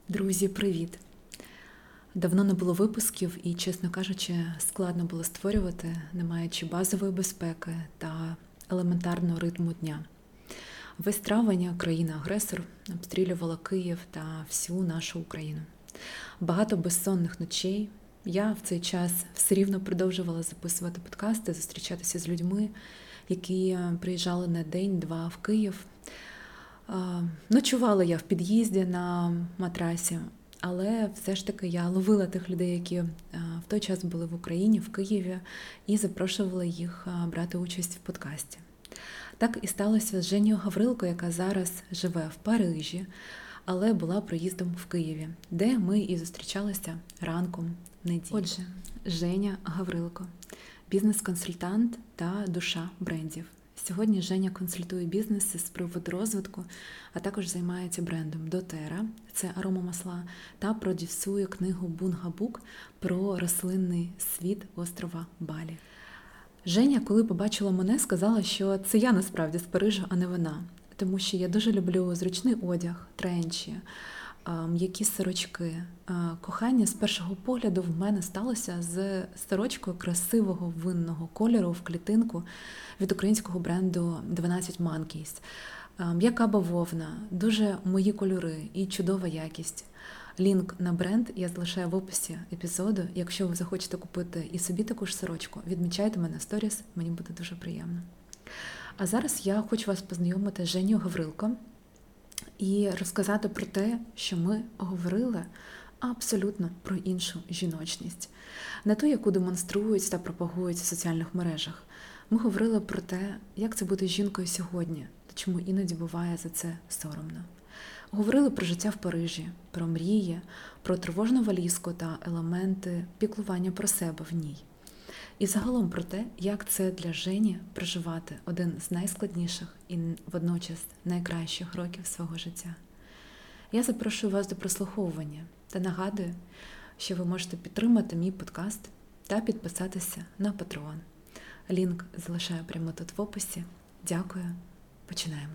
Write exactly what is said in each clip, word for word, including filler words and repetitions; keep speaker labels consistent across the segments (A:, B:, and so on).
A: Друзі, привіт! Давно не було випусків і, чесно кажучи, складно було створювати, не маючи базової безпеки та елементарного ритму дня. Весь травень країна-агресор обстрілювала Київ та всю нашу Україну. Багато безсонних ночей. Я в цей час все рівно продовжувала записувати подкасти, зустрічатися з людьми, які приїжджали на день-два в Київ. Ночувала я в під'їзді на матрасі, але все ж таки я ловила тих людей, які в той час були в Україні, в Києві, і запрошувала їх брати участь в подкасті. Так і сталося з Женєю Гаврилко, яка зараз живе в Парижі, але була проїздом в Києві, де ми і зустрічалися ранком неділі. Отже, Женя Гаврилко – бізнес-консультант та душа брендів. Сьогодні Женя консультує бізнеси з приводу розвитку, а також займається брендом доTERRA, це аромамасла, та продюсує книгу Bunga Book про рослинний світ острова Балі. Женя, коли побачила мене, сказала, що це я насправді з Парижа, а не вона. Тому що я дуже люблю зручний одяг, тренчі, м'які сорочки. Кохання з першого погляду в мене сталося з сорочкою красивого винного кольору в клітинку від українського бренду дванадцять Monkeys. М'яка бавовна, дуже мої кольори і чудова якість. Лінк на бренд я залишаю в описі епізоду. Якщо ви захочете купити і собі таку ж сорочку, відмічайте мене в сторіс, мені буде дуже приємно. А зараз я хочу вас познайомити з Женєю Гаврилко і розказати про те, що ми говорили абсолютно про іншу жіночність. Не ту, яку демонструють та пропагують в соціальних мережах. Ми говорили про те, як це бути жінкою сьогодні, та чому іноді буває за це соромно. Говорили про життя в Парижі, про мрії, про тривожну валізку та елементи піклування про себе в ній. І загалом про те, як це для Жені проживати один з найскладніших і водночас найкращих років свого життя. Я запрошую вас до прослуховування та нагадую, що ви можете підтримати мій подкаст та підписатися на Patreon. Лінк залишаю прямо тут в описі. Дякую. Починаємо.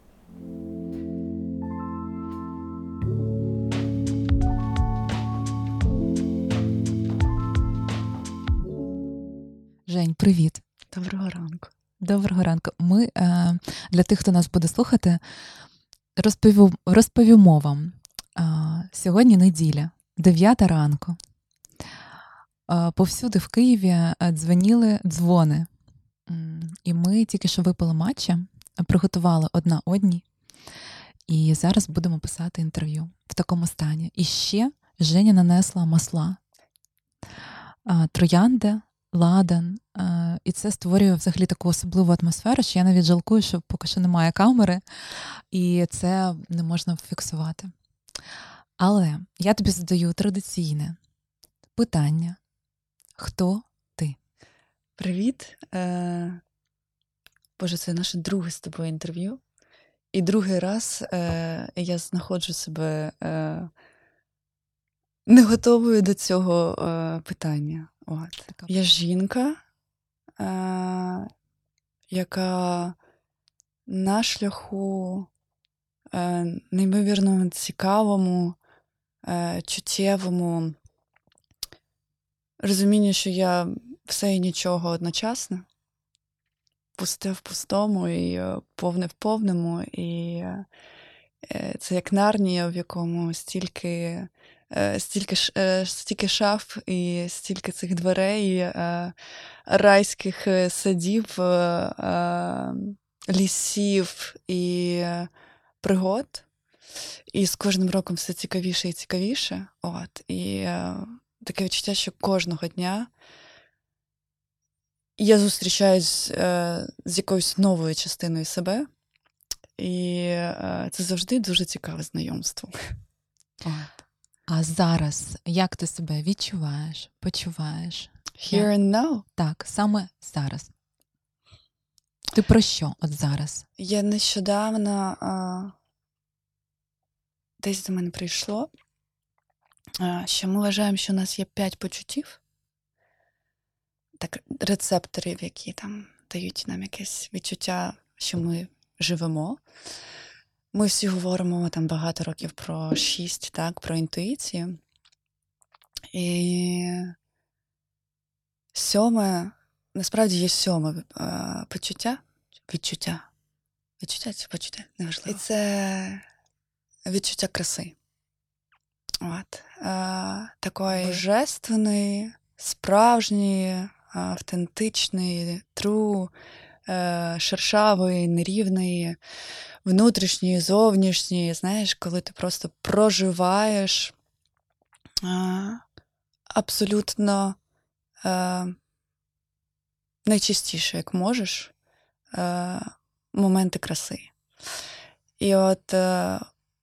A: Жень, привіт.
B: Доброго ранку.
A: Доброго ранку. Ми, для тих, хто нас буде слухати, розповімо, розповімо вам. Сьогодні неділя, дев'ята ранку. Повсюди в Києві дзвоніли дзвони. І ми тільки що випили матча, приготували одна одній. І зараз будемо писати інтерв'ю в такому стані. І ще Женя нанесла масла. Троянди, ладан. І це створює взагалі таку особливу атмосферу, що я навіть жалкую, що поки що немає камери, і це не можна фіксувати. Але я тобі задаю традиційне питання. Хто ти?
B: Привіт. Е... Боже, це наше друге з тобою інтерв'ю. І другий раз е... я знаходжу себе е... не готовою до цього е... питання. От. Я жінка, е... яка на шляху е... неймовірно цікавому, е... чуттєвому розуміння, що я все і нічого одночасно, пусте в пустому і повне в повному. І це як Нарнія, в якому стільки, стільки, стільки шаф і стільки цих дверей, райських садів, лісів і пригод. І з кожним роком все цікавіше і цікавіше. От. І таке відчуття, що кожного дня я зустрічаюсь е, з якоюсь новою частиною себе, і е, це завжди дуже цікаве знайомство.
A: От. А зараз, як ти себе відчуваєш, почуваєш?
B: Here and now?
A: Так, саме зараз. Ти про що от зараз?
B: Я нещодавно е, десь до мене прийшло, е, що ми вважаємо, що у нас є п'ять почуттів, так, рецепторів, які там дають нам якесь відчуття, що ми живемо. Ми всі говоримо там багато років про шість, так, про інтуїцію. І сьоме, насправді є сьоме е, почуття, відчуття. Відчуття чи почуття, неважливо. І це відчуття краси. От. Е, такої божественної, справжньої, автентичної, тру, е, шершавої, нерівної, внутрішньої, зовнішньої, знаєш, коли ти просто проживаєш е, абсолютно е, найчастіше, як можеш, е, моменти краси. І от е,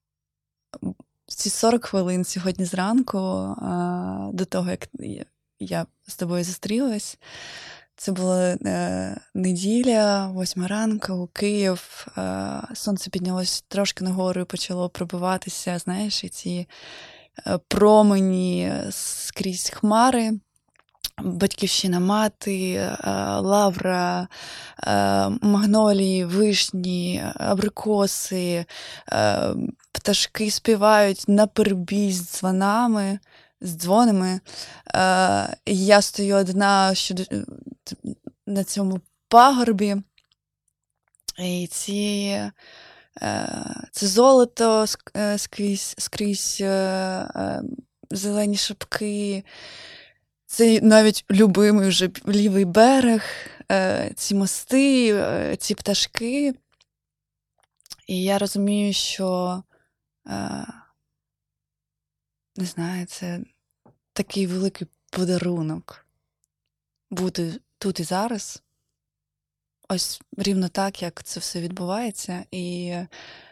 B: ці сорок хвилин сьогодні зранку, е, до того, як я з тобою зустрілась, це була е, неділя, восьма ранку, Київ, е, сонце піднялось трошки нагору і почало пробиватися, знаєш, і ці е, промені скрізь хмари. Батьківщина мати, е, лавра, е, магнолії, вишні, абрикоси, е, пташки співають наперебій з дзвонами, з дзвонами. Е, я стою одна щодо, на цьому пагорбі, і ці, е, це золото скрізь, скрізь е, е, зелені шапки. Це навіть любимий вже лівий берег, е, ці мости, е, ці пташки. І я розумію, що, е, не знаю, це такий великий подарунок бути тут і зараз. Ось рівно так, як це все відбувається. І е,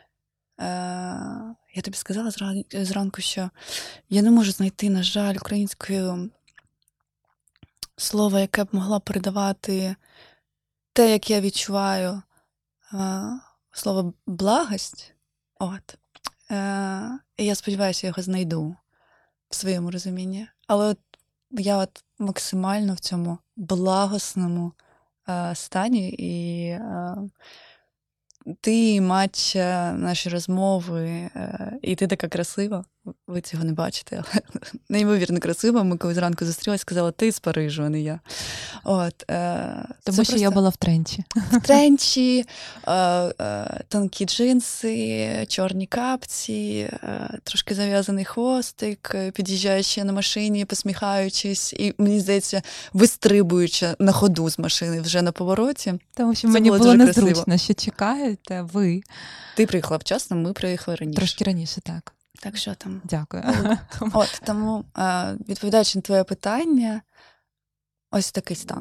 B: я тобі сказала зранку, що я не можу знайти, на жаль, українською слово, яке б могло передавати те, як я відчуваю е, слово благость. От. Е, і я сподіваюся, я його знайду в своєму розумінні. Але от я от максимально в цьому благосному е, стані, і е, ти, Матча, наші розмови, е, і ти така красива. Ви цього не бачите, але неймовірно красива. Ми коли зранку зустрілися, сказала, ти з Парижу, а не я. От, е,
C: Тому що просто... я була в тренчі.
B: В тренчі, е, е, тонкі джинси, чорні капці, е, трошки зав'язаний хвостик, під'їжджаючи на машині, посміхаючись, і, мені здається, вистрибуючи на ходу з машини вже на повороті.
C: Тому що це мені було, було незручно, красиво. Що чекаєте ви.
B: Ти приїхала вчасно, ми приїхали раніше.
C: Трошки раніше, так.
B: Так що там?
C: Дякую.
B: От, от тому, відповідаючи на твоє питання, ось такий стан.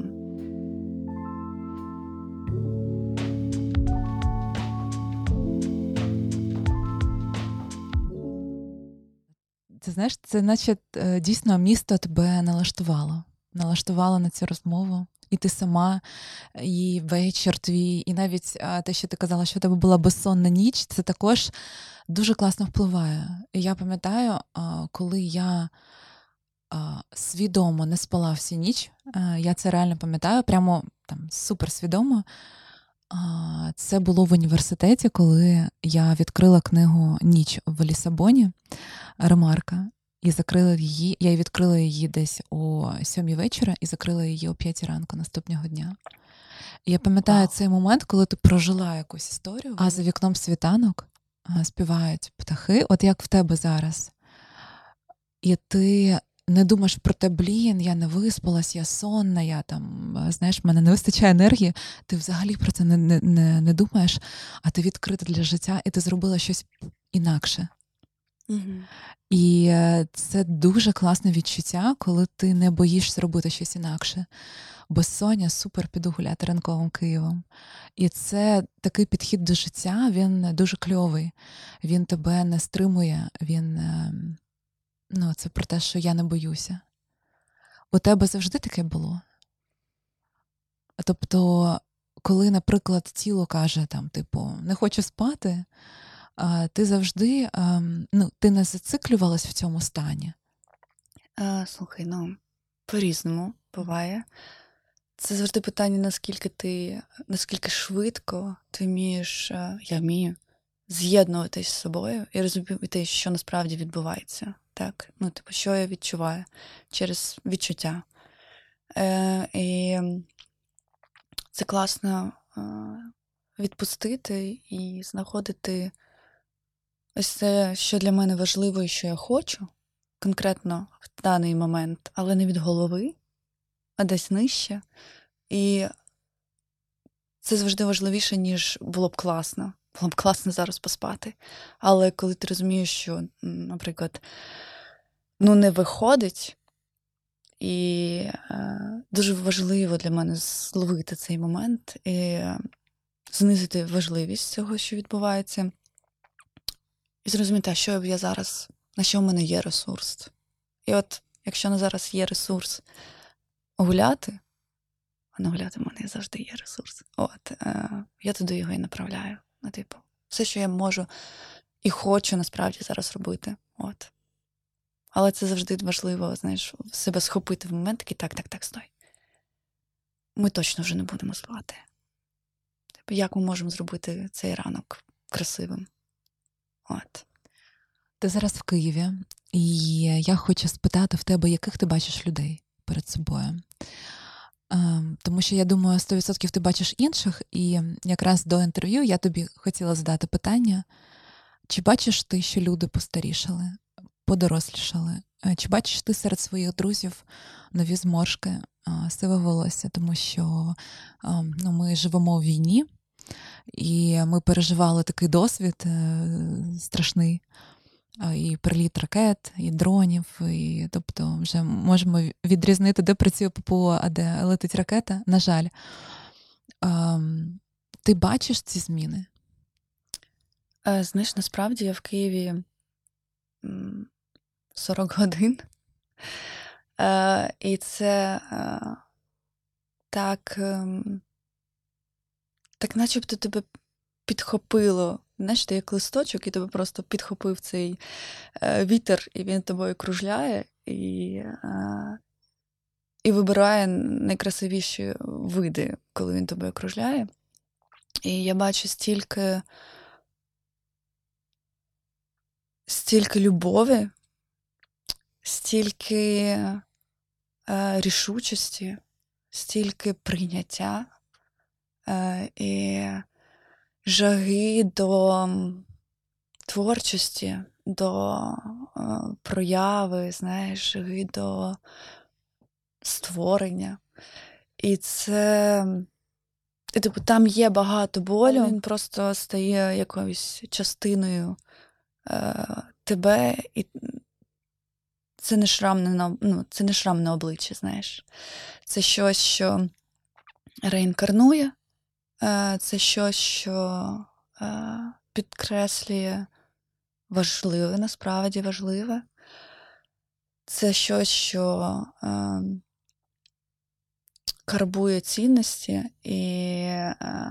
C: Ти знаєш, це наче дійсно місто тебе налаштувало. Налаштувало на цю розмову. І ти сама, і вечір твій, і навіть те, що ти казала, що у тебе була безсонна ніч, це також дуже класно впливає. І я пам'ятаю, коли я свідомо не спала всю ніч, я це реально пам'ятаю, прямо там суперсвідомо. Це було в університеті, коли я відкрила книгу «Ніч в Лісабоні» Ремарка. І закрила її, я відкрила її десь о сьомій вечора і закрила її о п'ятій ранку наступного дня. І я пам'ятаю wow. цей момент, коли ти прожила якусь історію, а за вікном світанок співають птахи, от як в тебе зараз. І ти не думаєш про те, блін, я не виспалась, я сонна, я там, знаєш, в мене не вистачає енергії. Ти взагалі про це не, не, не, не думаєш, а ти відкрита для життя, і ти зробила щось інакше.
B: Mm-hmm.
C: І це дуже класне відчуття, коли ти не боїшся робити щось інакше. Безсоння, супер, піду гуляти ранковим Києвом. І це такий підхід до життя, він дуже кльовий. Він тебе не стримує, він, ну, це про те, що я не боюся. У тебе завжди таке було? Тобто, коли, наприклад, тіло каже, там, типу, не хочу спати, ти завжди, ну, ти не зациклювалась в цьому стані?
B: А, слухай, ну, по-різному буває. Це завжди питання, наскільки ти, наскільки швидко ти вмієш, я вмію, з'єднуватись з собою і розуміти, що насправді відбувається. Так? Ну, типу, що я відчуваю через відчуття. Е, і це класно е, відпустити і знаходити ось це, що для мене важливо і що я хочу, конкретно в даний момент, але не від голови, а десь нижче. І це завжди важливіше, ніж було б класно. Було б класно зараз поспати. Але коли ти розумієш, що, наприклад, ну не виходить, і е, дуже важливо для мене зловити цей момент і знизити важливість цього, що відбувається, і зрозуміти, а що я зараз, на що в мене є ресурс. І от, якщо на зараз є ресурс гуляти, а на гуляти в мене завжди є ресурс, от, е, я туди його і направляю. Ну, типу, все, що я можу і хочу насправді зараз робити. От. Але це завжди важливо, знаєш, себе схопити в момент, такий, так, так, так, стой. Ми точно вже не будемо спати. Типу, як ми можемо зробити цей ранок красивим? От.
C: Ти зараз в Києві, і я хочу спитати в тебе, яких ти бачиш людей перед собою. Ем, Тому що, я думаю, сто відсотків ти бачиш інших, і якраз до інтерв'ю я тобі хотіла задати питання, чи бачиш ти, що люди постарішали, подорослішали? Е, Чи бачиш ти серед своїх друзів нові зморшки, е, сиве волосся? Тому що ем, ну, ми живемо в війні, і ми переживали такий досвід е, страшний. І приліт ракет, і дронів, і, тобто вже можемо відрізнити, де працює ППО, а де летить ракета, на жаль. Ем, Ти бачиш ці зміни?
B: Е, знаєш, насправді я в Києві м, сорок годин. Е, і це е, так, е, так начебто тебе підхопило. Знаєш, ти як листочок, і тебе просто підхопив цей е, вітер, і він тобою кружляє, і, е, і вибирає найкрасивіші види, коли він тобою кружляє. І я бачу стільки, стільки любові, стільки е, рішучості, стільки прийняття е, і жаги до творчості, до е, прояви, знаєш, жаги до створення. І це, і, типу, там є багато болю, він просто стає якоюсь частиною е, тебе, і це не шрам на, ну, це не шрам на обличчі, знаєш. Це щось, що реінкарнує, е, це щось, що е, підкреслює важливе, насправді важливе. Це щось, що е, карбує цінності, і е,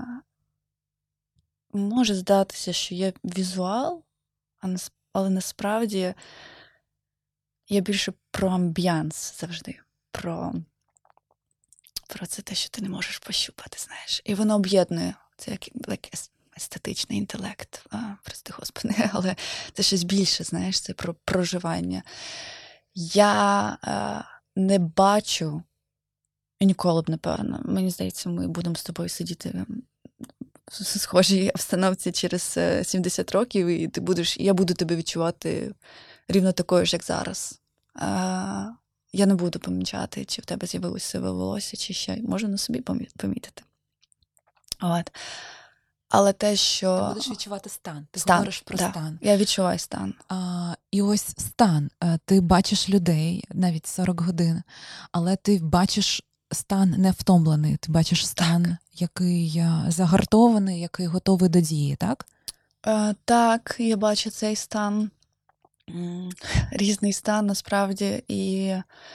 B: може здатися, що є візуал, а нас- але насправді я більше про амбіянс завжди, про, про це те, що ти не можеш пощупати, знаєш. І воно об'єднує, це як, як ес- естетичний інтелект, а, прости господи, але це щось більше, знаєш, це про проживання. Я е, не бачу, і ніколи б, напевно, мені здається, ми будемо з тобою сидіти в схожій обстановці через е, сімдесят років, і ти будеш, і я буду тебе відчувати рівно такою ж, як зараз. Е, я не буду помічати, чи в тебе з'явилося сиве волосся, чи ще можу на собі помі- помітити. От. Але те, що...
C: Ти будеш відчувати стан, ти
B: стан,
C: говориш про
B: да.
C: стан.
B: Я відчуваю стан.
C: А, і ось стан. Е, Ти бачиш людей навіть сорок годин, але ти бачиш стан не втомлений, ти бачиш стан,
B: Так.
C: який е, загартований, який готовий до дії, так?
B: Е, так, я бачу цей стан. М, Різний стан, насправді, і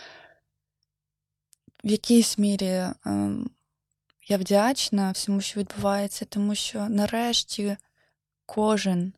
B: в якійсь мірі ем, я вдячна всьому, що відбувається, тому що нарешті кожен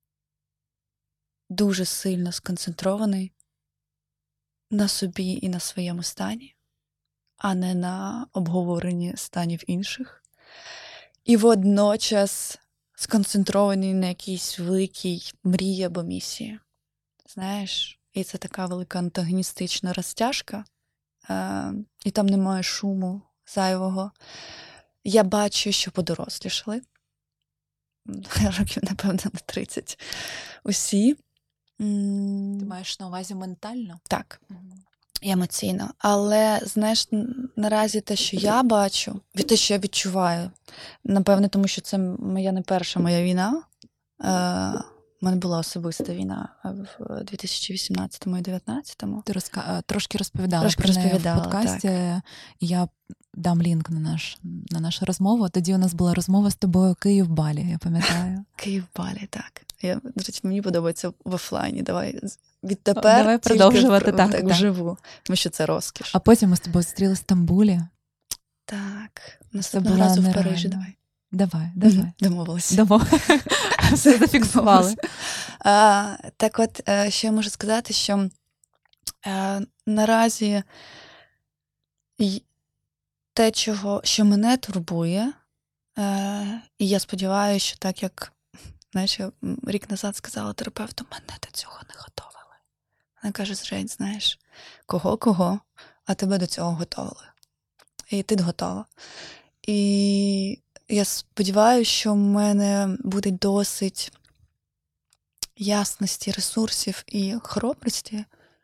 B: дуже сильно сконцентрований на собі і на своєму стані, а не на обговоренні станів інших. І водночас сконцентровані на якійсь великій мрії або місії. Знаєш, і це така велика антагоністична розтяжка, е, і там немає шуму зайвого. Я бачу, що подорослішали. Років, напевно, на тридцять. Усі.
C: Ти маєш на увазі ментально?
B: Так. І емоційно. Але, знаєш, наразі те, що я бачу, від те, що я відчуваю, напевне, тому що це моя не перша моя війна. Е, У мене була особиста війна в дві тисячі вісімнадцятому і дев'ятнадцятому.
C: Ти розка... трошки розповідала
B: Трошки
C: про неї
B: розповідала,
C: в подкасті. І я дам лінк на, наш, на нашу розмову. Тоді у нас була розмова з тобою Київ-Балі, я пам'ятаю.
B: Київ-Балі, так. Я, до речі, мені подобається в офлайні. Давай відтепер
C: Давай продовжувати так,
B: так,
C: так.
B: вживу, тому що це розкіш.
C: А потім ми з тобою зустріли в Стамбулі.
B: Так.
C: Це
B: Наступного
C: було
B: разу в
C: нереально.
B: Парижі, давай.
C: Давай, давай.
B: Домовилися.
C: Домов. Все зафіксували.
B: А, так от, е, що я можу сказати, що е, наразі й- те, чого, що мене турбує, е, і я сподіваюся, що так як, знаєш, я м, рік назад сказала терапевту, мене до цього не готовили. Вона каже, Жень, знаєш, кого-кого, а тебе до цього готовили. І ти готова. І я сподіваюся, що в мене буде досить ясності, ресурсів і хоробрості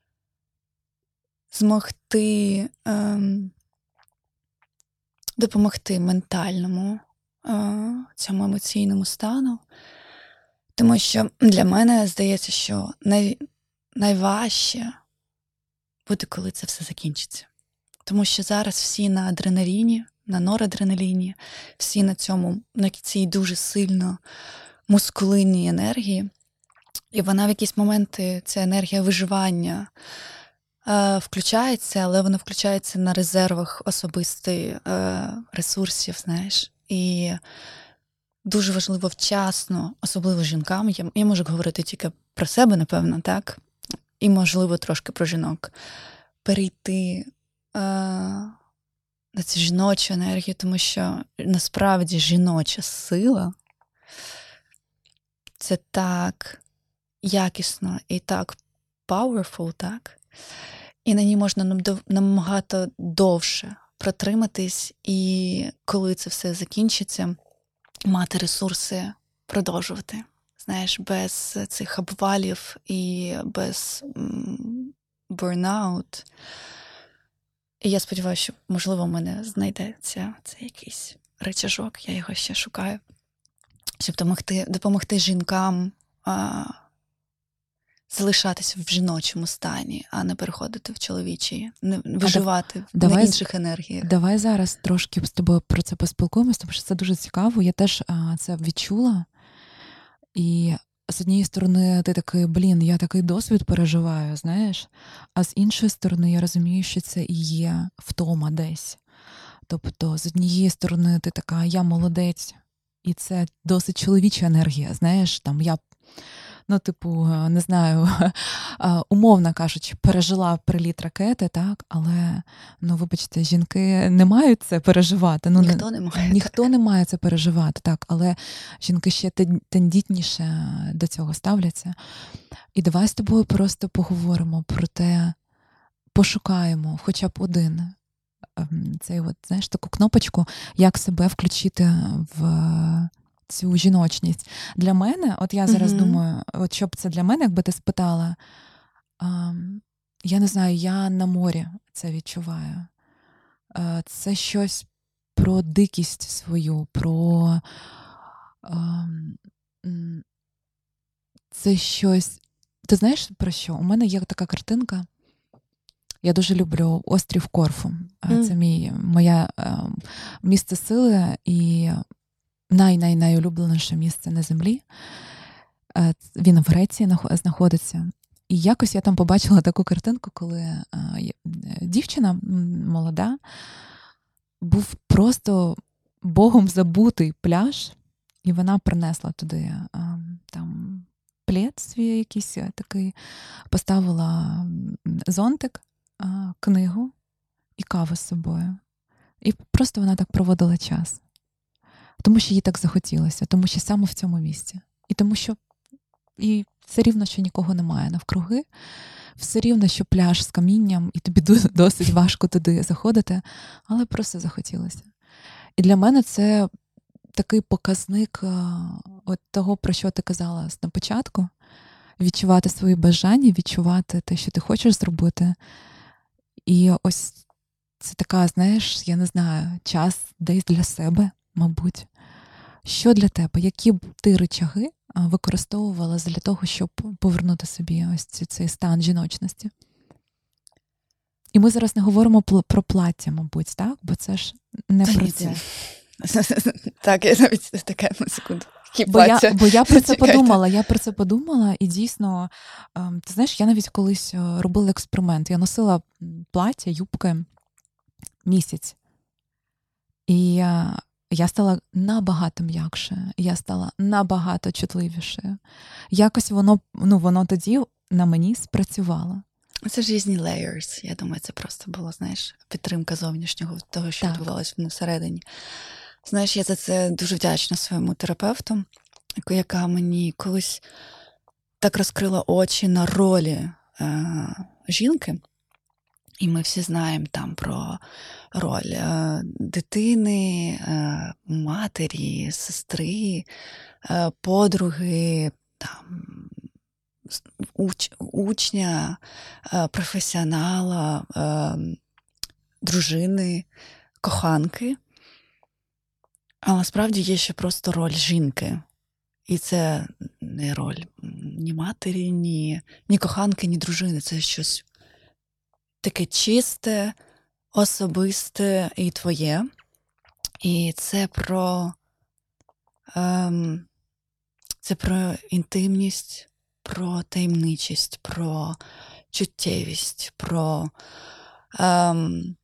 B: змогти ем, допомогти ментальному е, цьому емоційному стану. Тому що для мене здається, що най, найважче буде, коли це все закінчиться. Тому що зараз всі на адреналіні, на норадреналіні, всі на цьому, на цій дуже сильно мускулинній енергії. І вона в якісь моменти, ця енергія виживання е, включається, але вона включається на резервах особистих е, ресурсів, знаєш. І дуже важливо вчасно, особливо жінкам, я, я можу говорити тільки про себе, напевно, так? І, можливо, трошки про жінок, перейти е, на цю жіночу енергію, тому що насправді жіноча сила – це так якісно і так powerful, так? І на ній можна набагато довше протриматись, і коли це все закінчиться, мати ресурси продовжувати. Знаєш, без цих обвалів і без м, бурнаут. І я сподіваюся, що, можливо, в мене знайдеться цей якийсь рычажок, я його ще шукаю, щоб допомогти, допомогти жінкам а, залишатися в жіночому стані, а не переходити в чоловічий, не виживати
C: давай,
B: на інших енергіях.
C: Давай зараз трошки з тобою про це поспілкуємося, тому що це дуже цікаво. Я теж а, це відчула. І з однієї сторони ти такий, блін, я такий досвід переживаю, знаєш, а з іншої сторони я розумію, що це і є втома десь. Тобто, з однієї сторони ти така, я молодець, і це досить чоловіча енергія, знаєш, там я, ну, типу, не знаю, умовно кажучи, пережила приліт ракети, так, але, ну, вибачте, жінки не мають це переживати. Ну,
B: ніхто не має.
C: Ніхто не має це переживати, так, але жінки ще тендітніше до цього ставляться. І давай з тобою просто поговоримо про те, пошукаємо хоча б один цей от, знаєш, таку кнопочку, як себе включити в цю жіночність. Для мене, от я зараз mm-hmm. думаю, от що б це для мене, якби ти спитала, а, я не знаю, я на морі це відчуваю. А, це щось про дикість свою, про а, це щось, ти знаєш про що? У мене є така картинка. Я дуже люблю острів Корфу. Mm. Це мій, моє е, місце сили і най-най-найулюбленіше місце на землі. Е, він в Греції знаходиться. І якось я там побачила таку картинку, коли е, дівчина молода, був просто Богом забутий пляж, і вона принесла туди е, там плед свій якийсь такий, поставила зонтик, книгу і каву з собою. І просто вона так проводила час. Тому що їй так захотілося, тому що саме в цьому місці. І тому що і все рівно, що нікого немає навкруги, все рівно, що пляж з камінням, і тобі досить важко туди заходити, але просто захотілося. І для мене це такий показник от того, про що ти казала на початку. Відчувати свої бажання, відчувати те, що ти хочеш зробити. І ось це така, знаєш, я не знаю, час десь для себе, мабуть. Що для тебе? Які б ти рычаги використовувала для того, щоб повернути собі ось цей стан жіночності? І ми зараз не говоримо про плаття, мабуть, так? Бо це ж не про це.
B: Так, я навіть таке на секунду.
C: Бо я, бо я про це подумала, я про це подумала, і дійсно, ти знаєш, я навіть колись робила експеримент. Я носила плаття, юбки місяць. І я стала набагато м'якше, я стала набагато чутливішою. Якось воно, ну, воно тоді на мені спрацювало.
B: Це ж різні layers. Я думаю, це просто було, знаєш, підтримка зовнішнього того, що
C: Так.
B: відбувалося всередині. Знаєш, я за це дуже вдячна своєму терапевту, яка мені колись так розкрила очі на ролі е- жінки. І ми всі знаємо там про роль е- дитини, е- матері, сестри, е- подруги, там, уч- учня, е- професіонала, е- дружини, коханки. А насправді є ще просто роль жінки. І це не роль ні матері, ні, ні коханки, ні дружини. Це щось таке чисте, особисте і твоє. І це про, ем, це про інтимність, про таємничість, про чуттєвість, про ем,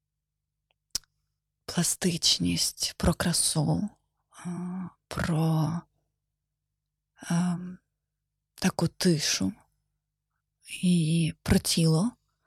B: пластичність, про красу, про е, таку тишу і про тіло.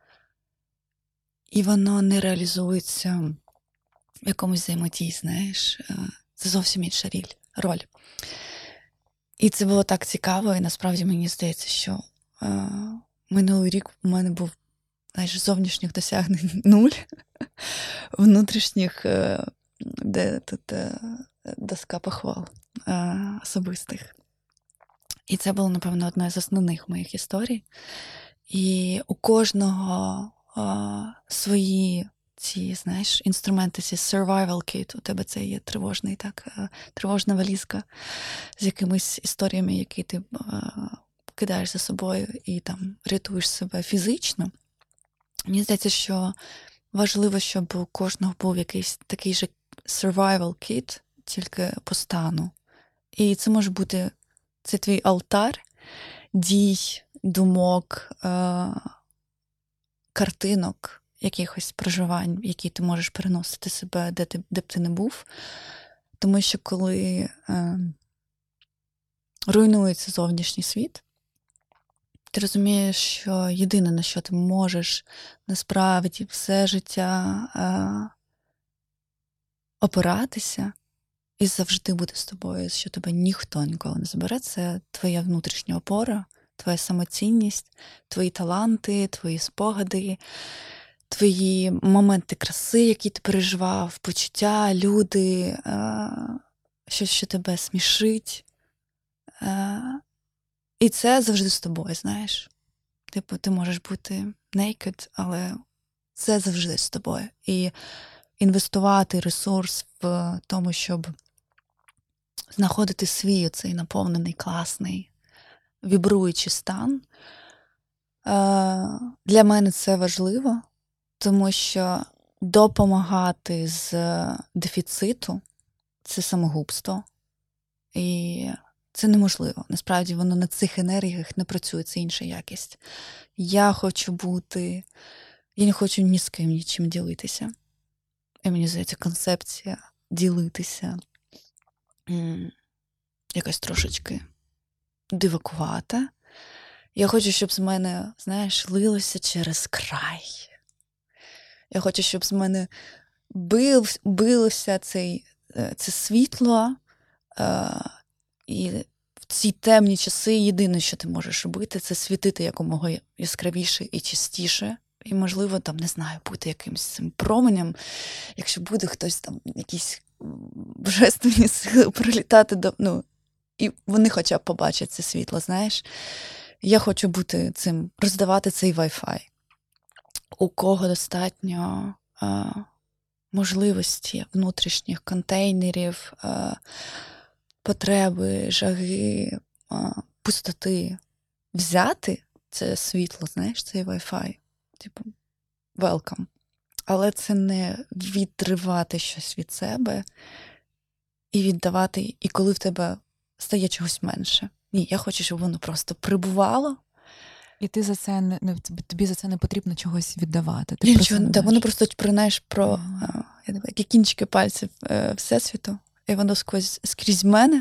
B: І воно не реалізується в якомусь взаємодії, знаєш. Це зовсім інша роль. І це було так цікаво, і насправді мені здається, що е, минулий рік у мене був, знаєш, зовнішніх досягнень нуль, внутрішніх, де тут доска похвал особистих. І це було, напевно, одна з основних моїх історій. І у кожного а, свої ці, знаєш, інструменти, ці survival kit. У тебе це є тривожний, так, тривожна валізка з якимись історіями, які ти а, кидаєш за собою і там рятуєш себе фізично. Мені здається, що важливо, щоб у кожного був якийсь такий же survival kit, тільки по стану. І це може бути, це твій алтар дій, думок, е- картинок, якихось проживань, які ти можеш переносити себе, де, ти, де б ти не був. Тому що коли е- руйнується зовнішній світ, ти розумієш, що єдине, на що ти можеш насправді все життя е- опиратися і завжди буде з тобою, що тебе ніхто ніколи не забере, це твоя внутрішня опора, твоя самоцінність, твої таланти, твої спогади, твої моменти краси, які ти переживав, почуття, люди, е- щось, що тебе смішить. Е- І це завжди з тобою, знаєш. Типу, ти можеш бути naked, але це завжди з тобою. І інвестувати ресурс в тому, щоб знаходити свій цей наповнений, класний, вібруючий стан. Для мене це важливо, тому що допомагати з дефіциту – це самогубство. І це неможливо. Насправді воно на цих енергіях не працює, це інша якість. Я хочу бути, я не хочу ні з ким нічим ділитися. І мені здається, концепція ділитися м- якась трошечки дивакувата. Я хочу, щоб з мене, знаєш, лилося через край. Я хочу, щоб з мене бив, билося цей е, це світло, е, і в ці темні часи єдине, що ти можеш робити, це світити якомога яскравіше і чистіше. І, можливо, там, не знаю, бути якимось цим променем, якщо буде хтось там, якісь божественні сили прилітати до... Ну, і вони хоча б побачать це світло, знаєш. Я хочу бути цим, роздавати цей Wi-Fi. У кого достатньо а, можливості внутрішніх контейнерів, а, потреби, жаги, а, пустоти взяти це світло, знаєш, цей Wi-Fi. Типу, welcome. Але це не відривати щось від себе і віддавати, і коли в тебе стає чогось менше. Ні, я хочу, щоб воно просто прибувало.
C: І ти за це не, не тобі за це не потрібно чогось віддавати. Ти
B: Нічого, да, воно просто знаєш про
C: mm.
B: я не, які кінчики пальців е, Всесвіту, і воно сквозь, скрізь мене,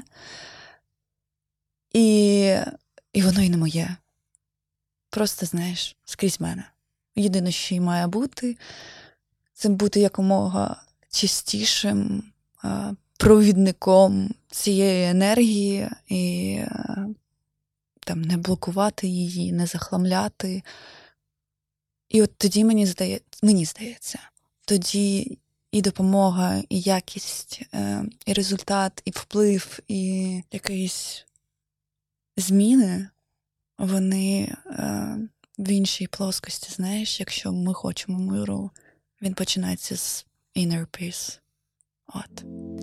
B: і, і воно і не моє. Просто, знаєш, скрізь мене. Єдине, що й має бути, це бути якомога чистішим е, провідником цієї енергії і е, там, не блокувати її, не захламляти. І от тоді мені здається, мені здається, тоді і допомога, і якість, е, і результат, і вплив, і якісь зміни, вони е, в іншій плоскості, знаєш, якщо ми хочемо миру, він починається з inner peace. От.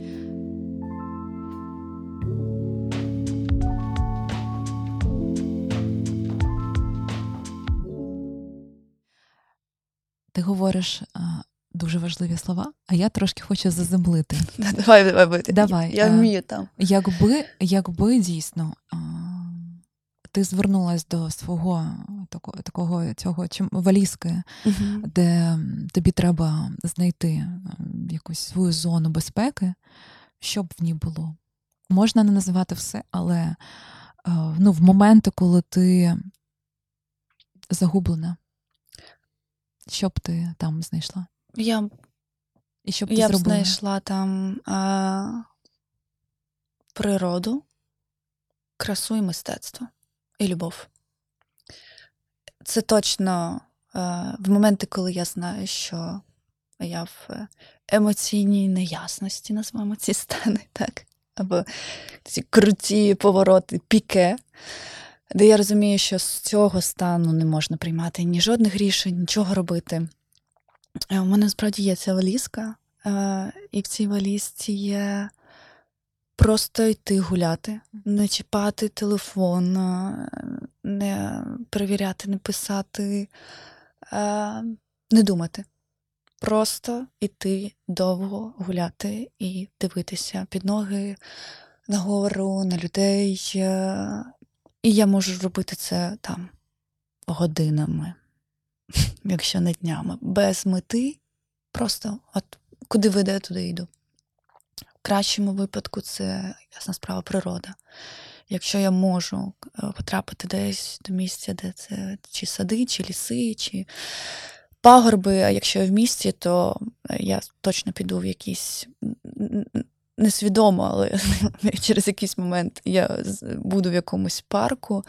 C: Ти говориш а, дуже важливі слова, а я трошки хочу заземлити.
B: Давай, давай, бити.
C: Давай.
B: Я вмію там.
C: Якби, якби дійсно а, ти звернулась до свого такого, такого цього чим, валізки,
B: Uh-huh.
C: де тобі треба знайти якусь свою зону безпеки, що б в ній було? Можна не називати все, але а, ну, в моменти, коли ти загублена, що б ти там знайшла?
B: Я,
C: І що б ти
B: я б
C: зробила?
B: знайшла там а, природу, красу і мистецтво. І любов. Це точно а, в моменти, коли я знаю, що я в емоційній неясності, назвемо ці стани, так? Або ці круті повороти, піке, де я розумію, що з цього стану не можна приймати ні жодних рішень, нічого робити. У мене, справді, є ця валізка, і в цій валізці є просто йти гуляти, не чіпати телефон, не перевіряти, не писати, не думати. Просто йти довго гуляти і дивитися під ноги, нагору, на людей. І я можу робити це там годинами, якщо не днями, без мети, просто от куди веде, туди йду. В кращому випадку це, ясна справа, природа. Якщо я можу потрапити десь до місця, де це чи сади, чи ліси, чи пагорби, а якщо я в місті, то я точно піду в якийсь, несвідомо, але через якийсь момент я буду в якомусь парку.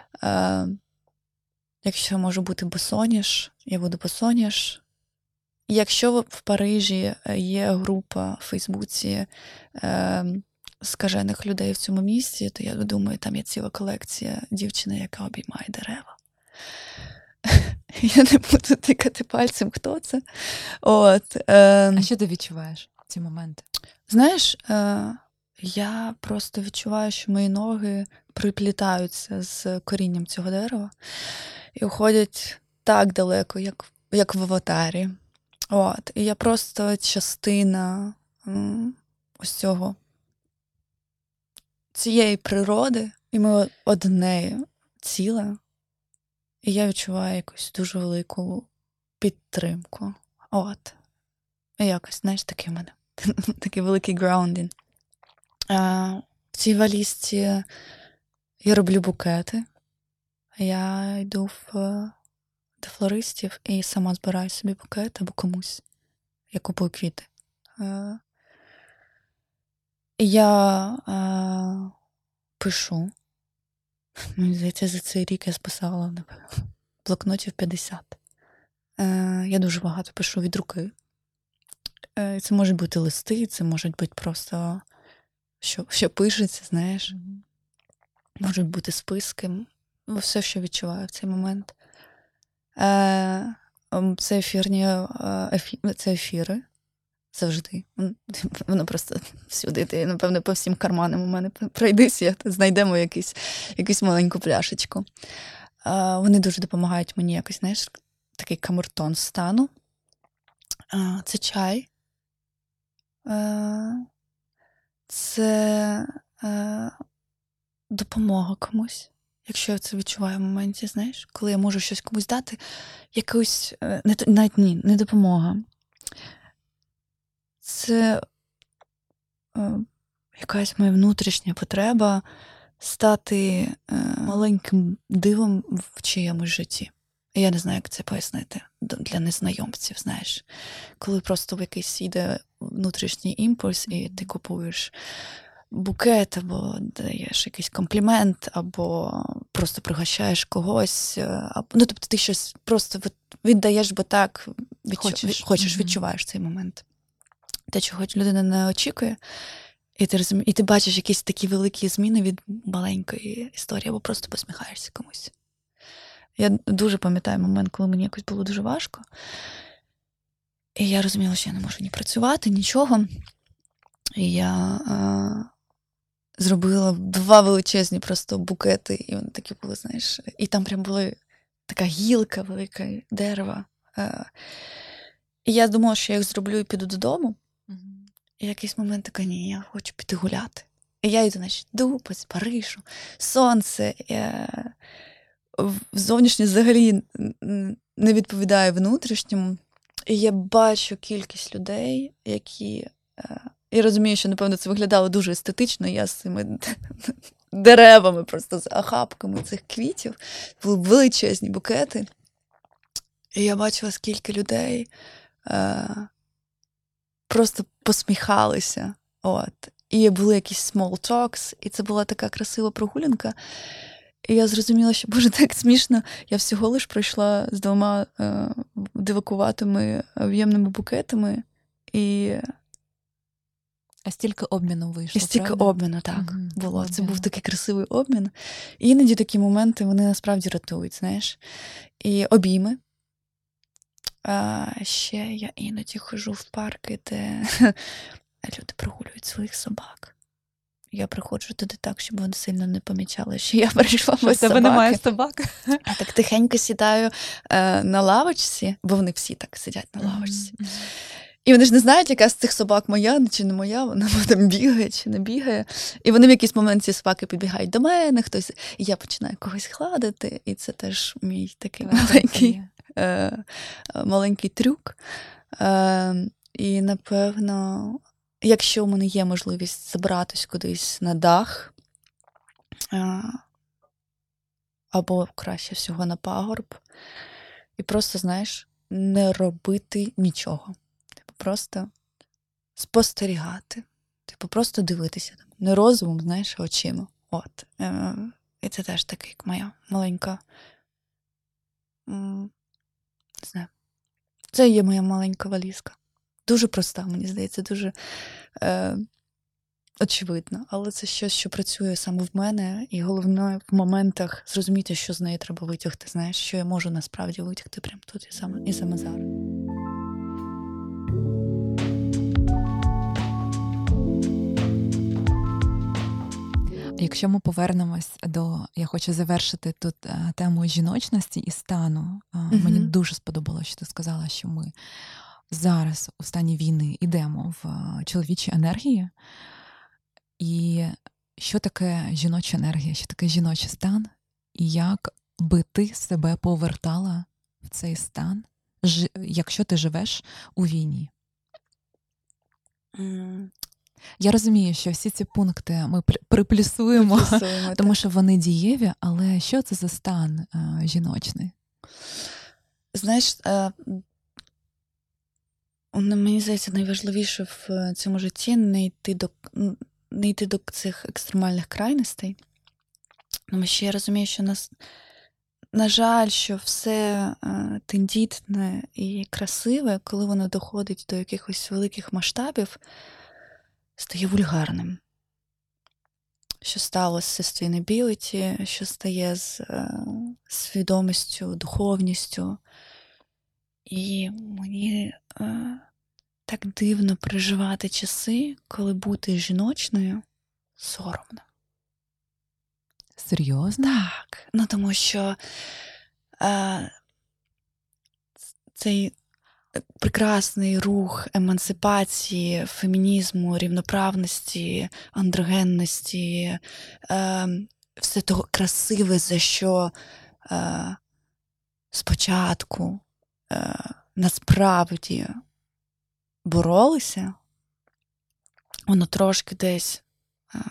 B: Якщо можу бути босоніж, я буду босоніж. Якщо в Парижі є група в Фейсбуці е, скажених людей в цьому місці, то я думаю, там є ціла колекція дівчини, яка обіймає дерева. Я не буду тикати пальцем, хто це. От, е,
C: а що ти відчуваєш в ці моменти?
B: Знаєш, е, я просто відчуваю, що мої ноги приплітаються з корінням цього дерева і уходять так далеко, як, як в аватарі. От, і я просто частина м, ось цього, цієї природи, і ми одне ціле, і я відчуваю якусь дуже велику підтримку. От. І якось, знаєш, такий в мене, такий великий grounding. А, в цій валізці я роблю букети. Я йду в до флористів і сама збираю собі букет або комусь. Я купую квіти. Я е, пишу. Мені здається, за цей рік я списала, напевно, блокнотів п'ятдесят. Е, я дуже багато пишу від руки. Е, це можуть бути листи, це можуть бути просто, що, що пишеться, знаєш.
C: Мгм.
B: Можуть бути списки. Все, що відчуваю в цей момент. Е, ем, це ефірні, е, ефі, це ефіри. Завжди. М, Воно просто всюди. Ти, напевно, по всім карманам у мене пройдися, знайдемо якийсь, якусь маленьку пляшечку. Е, Вони дуже допомагають мені якось, знаєш, такий камертон стану. Е, Це чай. Е, Це е, допомога комусь. Якщо я це відчуваю в моменті, знаєш, коли я можу щось комусь дати, якусь, е, не, т- навіть ні, не допомога. Це е, якась моя внутрішня потреба стати е, маленьким дивом в чиємусь житті. Я не знаю, як це пояснити д- для незнайомців, знаєш. Коли просто в якийсь йде внутрішній імпульс, і ти купуєш букет, або даєш якийсь комплімент, або просто пригощаєш когось. е, Або, ну, тобто ти щось просто від- віддаєш, бо так відчу...
C: Хочеш.
B: хочеш
C: Мгм.
B: відчуваєш цей момент. Те, чого людина не очікує, і ти, розумі... і ти бачиш якісь такі великі зміни від маленької історії, або просто посміхаєшся комусь. Я дуже пам'ятаю момент, коли мені якось було дуже важко. І я розуміла, що я не можу ні працювати, нічого. І я е, зробила два величезні просто букети, і вони такі були, знаєш, і там прям була така гілка велика дерева. Е, і я думала, що я їх зроблю і піду додому.
C: Мгм.
B: І в якийсь момент така, ні, я хочу піти гуляти. І я йду, значить, йду по Парижу, сонце. Е, в- зовнішнє взагалі н- н- не відповідає внутрішньому. І я бачу кількість людей, які. е, І розумію, що, напевно, це виглядало дуже естетично. Я з цими деревами, просто з охапками цих квітів. Були величезні букети. І я бачила, скільки людей е, просто посміхалися. От. І були якісь small talks, і це була така красива прогулянка. І я зрозуміла, що, боже, так смішно. Я всього лиш пройшла з двома е, дивакуватими об'ємними букетами, і,
C: А стільки обміну
B: і
C: вийшло,
B: стільки
C: правда?
B: обміну, так,
C: Мгм.
B: було. Це
C: Обміну.
B: був такий красивий обмін. І іноді такі моменти, вони насправді рятують, знаєш. І обійми. А ще я іноді ходжу в парки, де люди прогулюють своїх собак. Я приходжу туди так, щоб вони сильно не помічали, що я прийшла
C: Що в
B: без
C: тебе
B: собаки.
C: немає собак?
B: Я так тихенько сідаю е, на лавочці, бо вони всі так сидять на лавочці.
C: Мгм.
B: І вони ж не знають, яка з цих собак моя чи не моя, вона там бігає чи не бігає. І вони в якийсь момент ці собаки підбігають до мене, хтось, і я починаю когось гладити, і це теж мій такий
C: Твоя
B: маленький,
C: функція.
B: е, маленький трюк. Е, і, напевно, якщо у мене є можливість забратись кудись на дах, е, або краще всього на пагорб, і просто, знаєш, не робити нічого. Типу, просто спостерігати. Типу, просто дивитися. Не розумом, знаєш, а очима. От. Е, І це теж така як моя маленька. м, Не знаю. Це є моя маленька валізка. Дуже проста, мені здається, дуже е, очевидно. Але це щось, що працює саме в мене, і головне в моментах зрозуміти, що з неї треба витягти, знаєш, що я можу насправді витягти прямо тут і саме, і саме зараз.
C: Якщо ми повернемось до, я хочу завершити тут е, тему жіночності і стану. Е,
B: Мгм.
C: Мені дуже сподобалося, що ти сказала, що ми зараз у стані війни йдемо в е, чоловічі енергії. І що таке жіноча енергія, що таке жіночий стан, і як би ти себе повертала в цей стан, жи- якщо ти живеш у війні?
B: М,
C: Я розумію, що всі ці пункти ми при- приплюсуємо,
B: Приплюсуємо,
C: тому
B: так.
C: що вони дієві, але що це за стан е, жіночний?
B: Знаєш, е, м, мені здається, найважливіше в цьому житті не йти до, м, не йти до цих екстремальних крайностей. Тому що я розумію, що нас, на жаль, що все е, тендітне і красиве, коли воно доходить до якихось великих масштабів, стає вульгарним. Що стало з sustainability, що стає з е, свідомістю, духовністю. І мені е, так дивно переживати часи, коли бути жіночною соромно.
C: Серйозно?
B: Так. Ну, тому що е, цей прекрасний рух емансипації, фемінізму, рівноправності, андрогенності, е, все того красиве, за що е, спочатку е, насправді боролися, воно трошки десь е,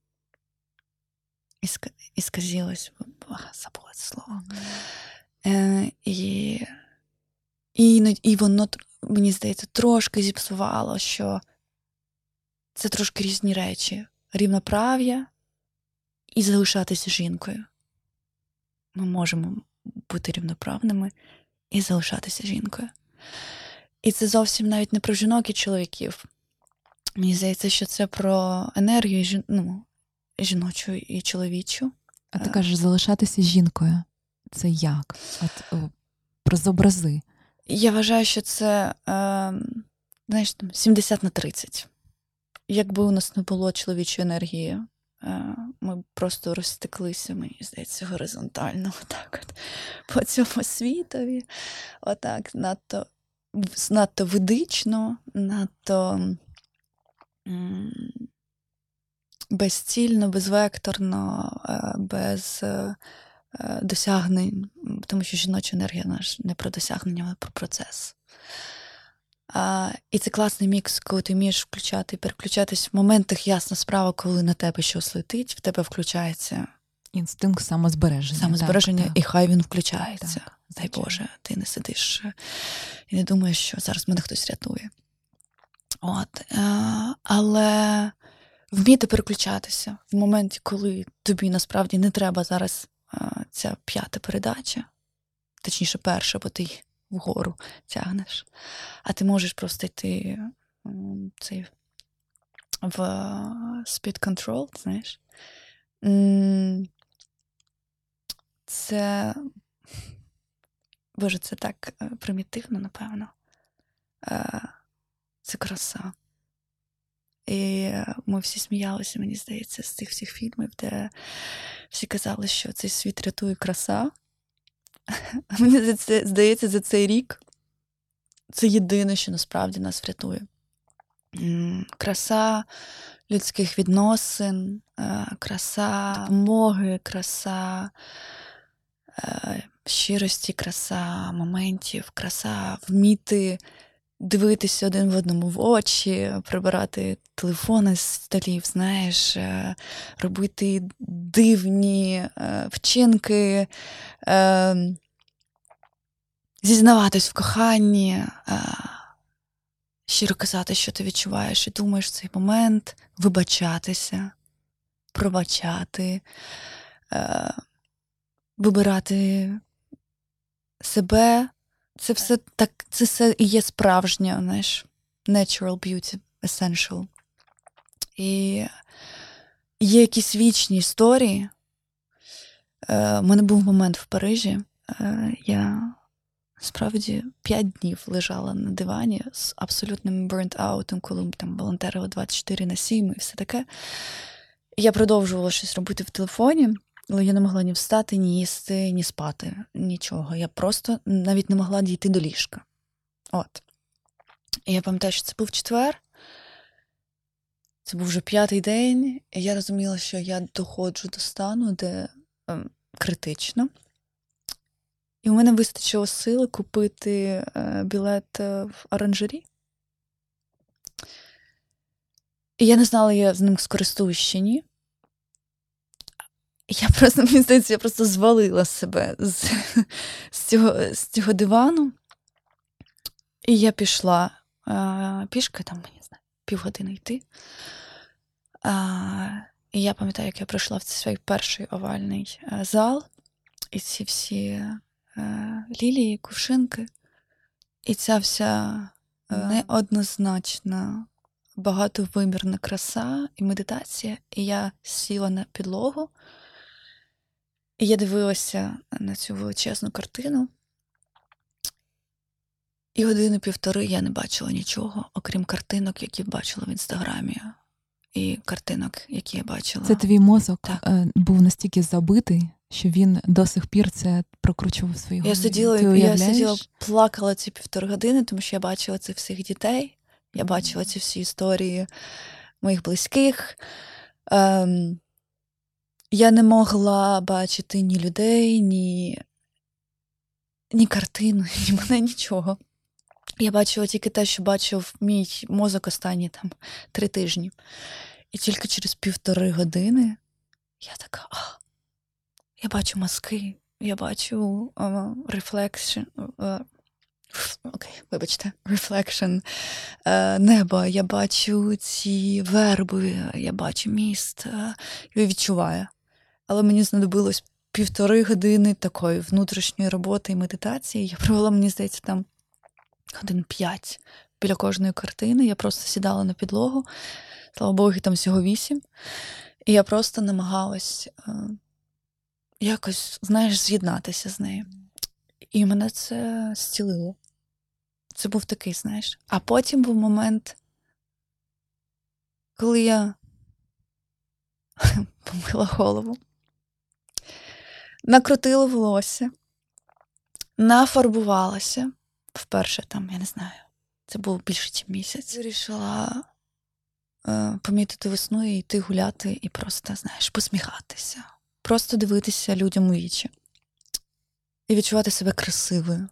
B: іска, ісказілось, забула це слово. Е, і, і, і воно, мені здається, трошки зіпсувало, що це трошки різні речі. Рівноправ'я і залишатися жінкою. Ми можемо бути рівноправними і залишатися жінкою. І це зовсім навіть не про жінок і чоловіків. Мені здається, що це про енергію жін... ну, жіночу і чоловічу.
C: А ти кажеш, залишатися жінкою. Це як? От о, про зобрази.
B: Я вважаю, що це, е, знаєш, там, сімдесят на тридцять. Якби у нас не було чоловічої енергії, е, ми б просто розтеклися, мені здається, горизонтально, отак от, по цьому світові. Отак, надто, надто ведично, надто м, безцільно, безвекторно, е, без е, досягнень, тому що жіноча енергія наш не про досягнення, а про процес. А, і це класний мікс, коли ти вмієш включати і переключатись в моментах, ясна справа, коли на тебе щось летить, в тебе включається
C: інстинкт самозбереження.
B: Самозбереження,
C: так,
B: і хай він включається.
C: Так,
B: дай Боже, ти не сидиш і не думаєш, що зараз мене хтось рятує. От. А, але вміти переключатися в моменті, коли тобі насправді не треба зараз а, ця п'ята передача, точніше перша, бо ти вгору тягнеш, а ти можеш просто йти м, цей, в speed control, знаєш. М, Це, боже, це так е, примітивно, напевно. Е, Це краса. І ми всі сміялися, мені здається, з цих всіх фільмів, де всі казали, що цей світ рятує краса. Мені здається, за цей рік це єдине, що насправді нас врятує. Краса людських відносин, краса допомоги, краса щирості, краса моментів, краса вміти дивитися один в одному в очі, прибирати телефони з столів, знаєш, робити дивні вчинки, зізнаватись в коханні, щиро казати, що ти відчуваєш і думаєш в цей момент, вибачатися, пробачати, вибирати себе. Це все так, це все і є справжнє, знаєш, natural beauty, essential. І є якісь вічні історії. У мене був момент в Парижі. Я справді п'ять днів лежала на дивані з абсолютним burnt-out, коли там волонтерила двадцять чотири на сім і все таке. Я продовжувала щось робити в телефоні, але я не могла ні встати, ні їсти, ні спати, нічого. Я просто навіть не могла дійти до ліжка. От. І я пам'ятаю, що це був четвер, це був вже п'ятий день, і я розуміла, що я доходжу до стану, де ем, критично. І у мене вистачило сили купити е, білет в оранжері. І я не знала, я з ним скористуюсь чи ні. Я просто, мені здається, я просто звалила себе з, з, цього, з цього дивану. І я пішла е, пішки, там, не знаю, півгодини йти. А, і я пам'ятаю, як я прийшла в цей перший овальний е, зал, і ці всі е, лілії, кувшинки, і ця вся е, неоднозначна, багатовимірна краса і медитація. І я сіла на підлогу, і я дивилася на цю величезну картину. І години-півтори я не бачила нічого, окрім картинок, які бачила в Інстаграмі. І картинок, які я бачила.
C: Це твій мозок
B: Так.
C: е, був настільки забитий, що він до сих пір це прокручував в своїй
B: Я
C: голові.
B: сиділа,
C: Ти
B: я
C: уявляєш?
B: сиділа, плакала ці півтори години, тому що я бачила цих всіх дітей, я бачила ці всі історії моїх близьких. Ем, я не могла бачити ні людей, ні, ні картину, ні мене, нічого. Я бачила тільки те, що бачив мій мозок останні там три тижні. І тільки через півтори години я така, а, я бачу мазки, я бачу рефлекшн, окей, вибачте, reflection е, неба, я бачу ці верби, я бачу міст, е, я відчуваю. Але мені знадобилось півтори години такої внутрішньої роботи і медитації. Я провела, мені здається, там годин п'ять біля кожної картини. Я просто сідала на підлогу, слава Богу, там всього вісім. І я просто намагалась е, якось, знаєш, з'єднатися з нею. І мене це зцілило. Це був такий, знаєш. А потім був момент, коли я помила голову, накрутила волосся, нафарбувалася. Вперше там, я не знаю, це був більше, ніж місяць. Вирішила е, помітити весну і йти гуляти і просто, знаєш, посміхатися. Просто дивитися людям у вічі. І відчувати себе красивою.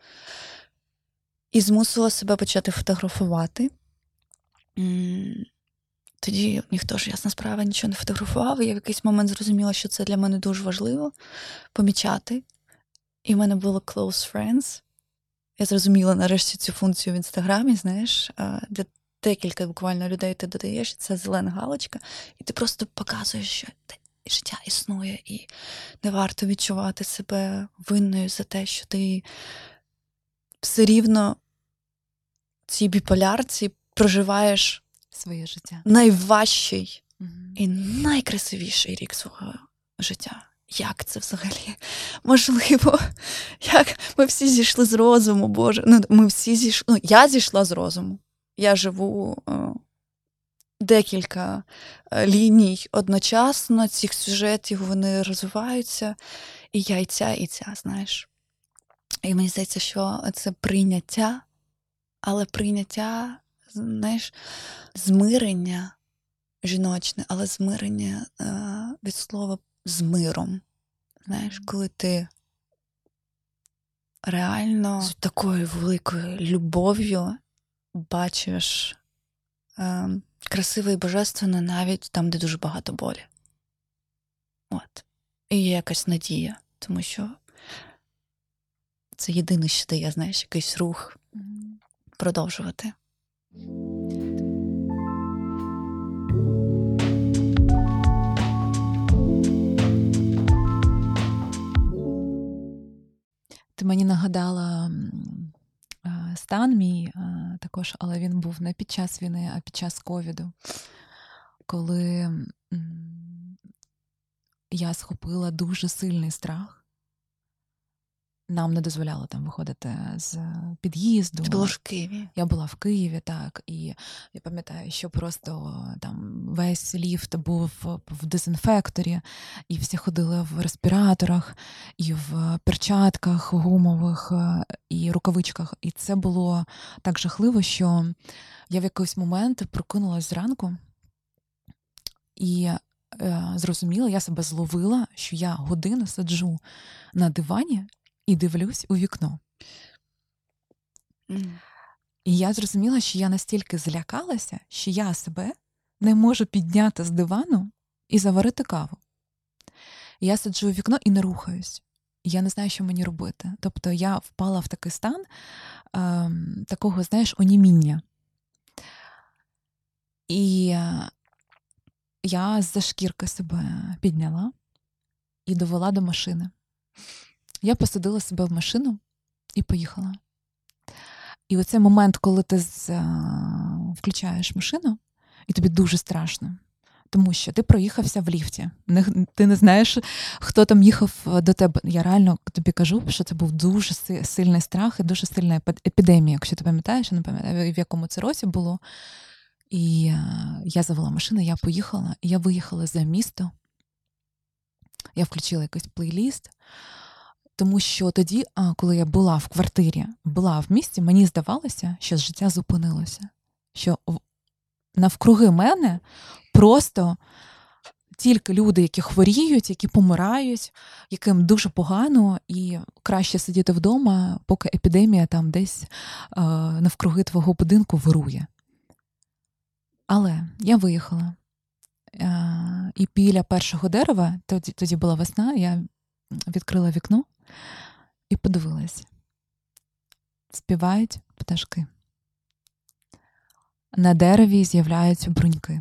B: І змусила себе почати фотографувати. Тоді ніхто ж, ясна справа, нічого не фотографував. І я в якийсь момент зрозуміла, що це для мене дуже важливо помічати. І в мене було close friends. Я зрозуміла нарешті цю функцію в Інстаграмі, знаєш, де декілька буквально людей ти додаєш, це зелена галочка, і ти просто показуєш, що життя існує, і не варто відчувати себе винною за те, що ти все рівно в цій біполярці проживаєш
C: своє життя.
B: Найважчий
C: Угу.
B: і найкрасивіший рік свого життя. Як це взагалі можливо? Як ми всі зійшли з розуму, Боже. Ну, ми всі зійшли. Ну, я зійшла з розуму. Я живу о, декілька ліній одночасно, цих сюжетів, вони розвиваються. І я і ця, і ця, знаєш. І мені здається, що це прийняття, але прийняття, знаєш, змирення жіночне, але змирення е, від слова з миром. Знаєш, коли ти реально з такою великою любов'ю бачиш е, красиве і божественне навіть там, де дуже багато болі. От. І є якась надія, тому що це єдине, що дає, знаєш, якийсь рух продовжувати.
C: Ти мені нагадала стан мій також, але він був не під час війни, а під час ковіду, коли я схопила дуже сильний страх. Нам не дозволяло там виходити з під'їзду.
B: Ти була в Києві?
C: Я була в Києві, так. І я пам'ятаю, що просто там весь ліфт був в дезінфекторі, і всі ходили в респіраторах, і в перчатках гумових, і рукавичках. І це було так жахливо, що я в якийсь момент прокинулась зранку і е, зрозуміла, я себе зловила, що я годину сиджу на дивані і дивлюсь у вікно.
B: Mm.
C: І я зрозуміла, що я настільки злякалася, що я себе не можу підняти з дивану і заварити каву. І я сиджу у вікно і не рухаюсь. І я не знаю, що мені робити. Тобто я впала в такий стан е, такого, знаєш, оніміння. І я з-за шкірки себе підняла і довела до машини. Я посадила себе в машину і поїхала. І оцей момент, коли ти з, а, включаєш машину, і тобі дуже страшно. Тому що ти проїхався в ліфті. Не, ти не знаєш, хто там їхав до тебе. Я реально тобі кажу, що це був дуже сильний страх і дуже сильна епідемія, якщо ти пам'ятаєш, я не пам'ятаю, в якому це році було. І а, я завела машину, я поїхала, і я виїхала за місто. Я включила якийсь плейліст, тому що тоді, а, коли я була в квартирі, була в місті, мені здавалося, що життя зупинилося. Що навкруги мене просто тільки люди, які хворіють, які помирають, яким дуже погано, і краще сидіти вдома, поки епідемія там десь а, навкруги твого будинку вирує. Але я виїхала. А, і біля першого дерева, тоді, тоді була весна, я відкрила вікно і подивилась. Співають пташки. На дереві з'являються бруньки.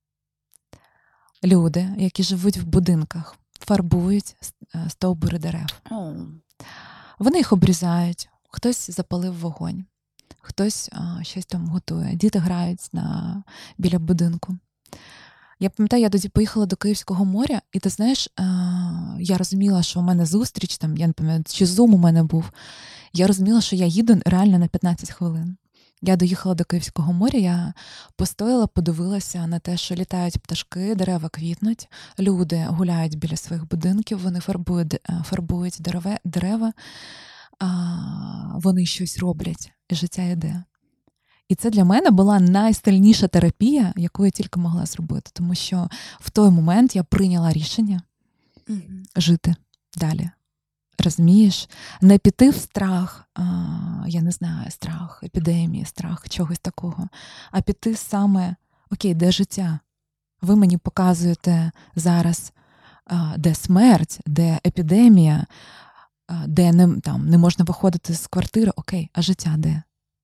C: Люди, які живуть в будинках, фарбують стовбури дерев.
B: Oh.
C: Вони їх обрізають, хтось запалив вогонь, хтось а, щось там готує. Діти грають на, біля будинку. Я пам'ятаю, я тоді поїхала до Київського моря, і ти знаєш, а, я розуміла, що у мене зустріч, там, я не пам'ятаю, чи зум у мене був. Я розуміла, що я їду реально на п'ятнадцять хвилин. Я доїхала до Київського моря, я постояла, подивилася на те, що літають пташки, дерева квітнуть, люди гуляють біля своїх будинків, вони фарбують, фарбують дерева, дерева а, вони щось роблять, і життя йде. І це для мене була найсильніша терапія, яку я тільки могла зробити, тому що в той момент я прийняла рішення
B: Mm-hmm.
C: жити далі. Розумієш? Не піти в страх, а, я не знаю, страх епідемії, страх чогось такого, а піти саме, окей, де життя? Ви мені показуєте зараз, а, де смерть, де епідемія, а, де не, там, не можна виходити з квартири, окей, а життя де?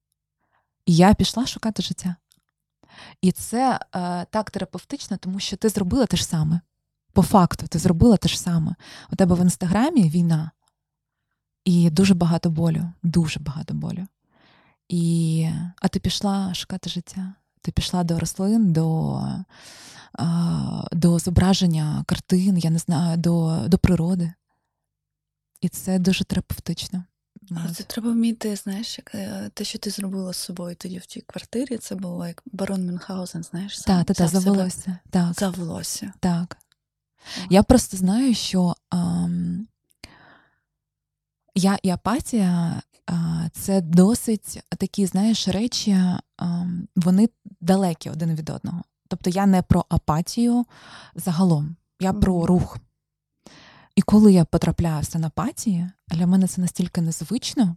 C: І я пішла шукати життя. І це а, так терапевтично, тому що ти зробила те ж саме. По факту, ти зробила те ж саме. У тебе в Інстаграмі війна. І дуже багато болю, дуже багато болю. І, а ти пішла шукати життя. Ти пішла до рослин, до, а, до зображення картин, я не знаю, до, до природи. І це дуже терапевтично.
B: Але це треба вміти, знаєш, як те, що ти зробила з собою тоді в тій квартирі, це було як барон Мюнхгаузен, знаєш?
C: Так, так, так, за волосся. Так.
B: За волосся.
C: Так. Я просто знаю, що ам, я і апатія а, це досить такі, знаєш, речі, ам, вони далекі один від одного. Тобто я не про апатію загалом, я про
B: Мгм.
C: рух. І коли я потрапляю в стан апатії, для мене це настільки незвично,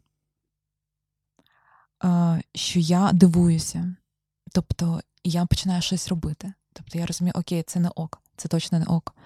C: а, що я дивуюся. Тобто я починаю щось робити. Тобто я розумію, окей, це не ок, це точно не ок.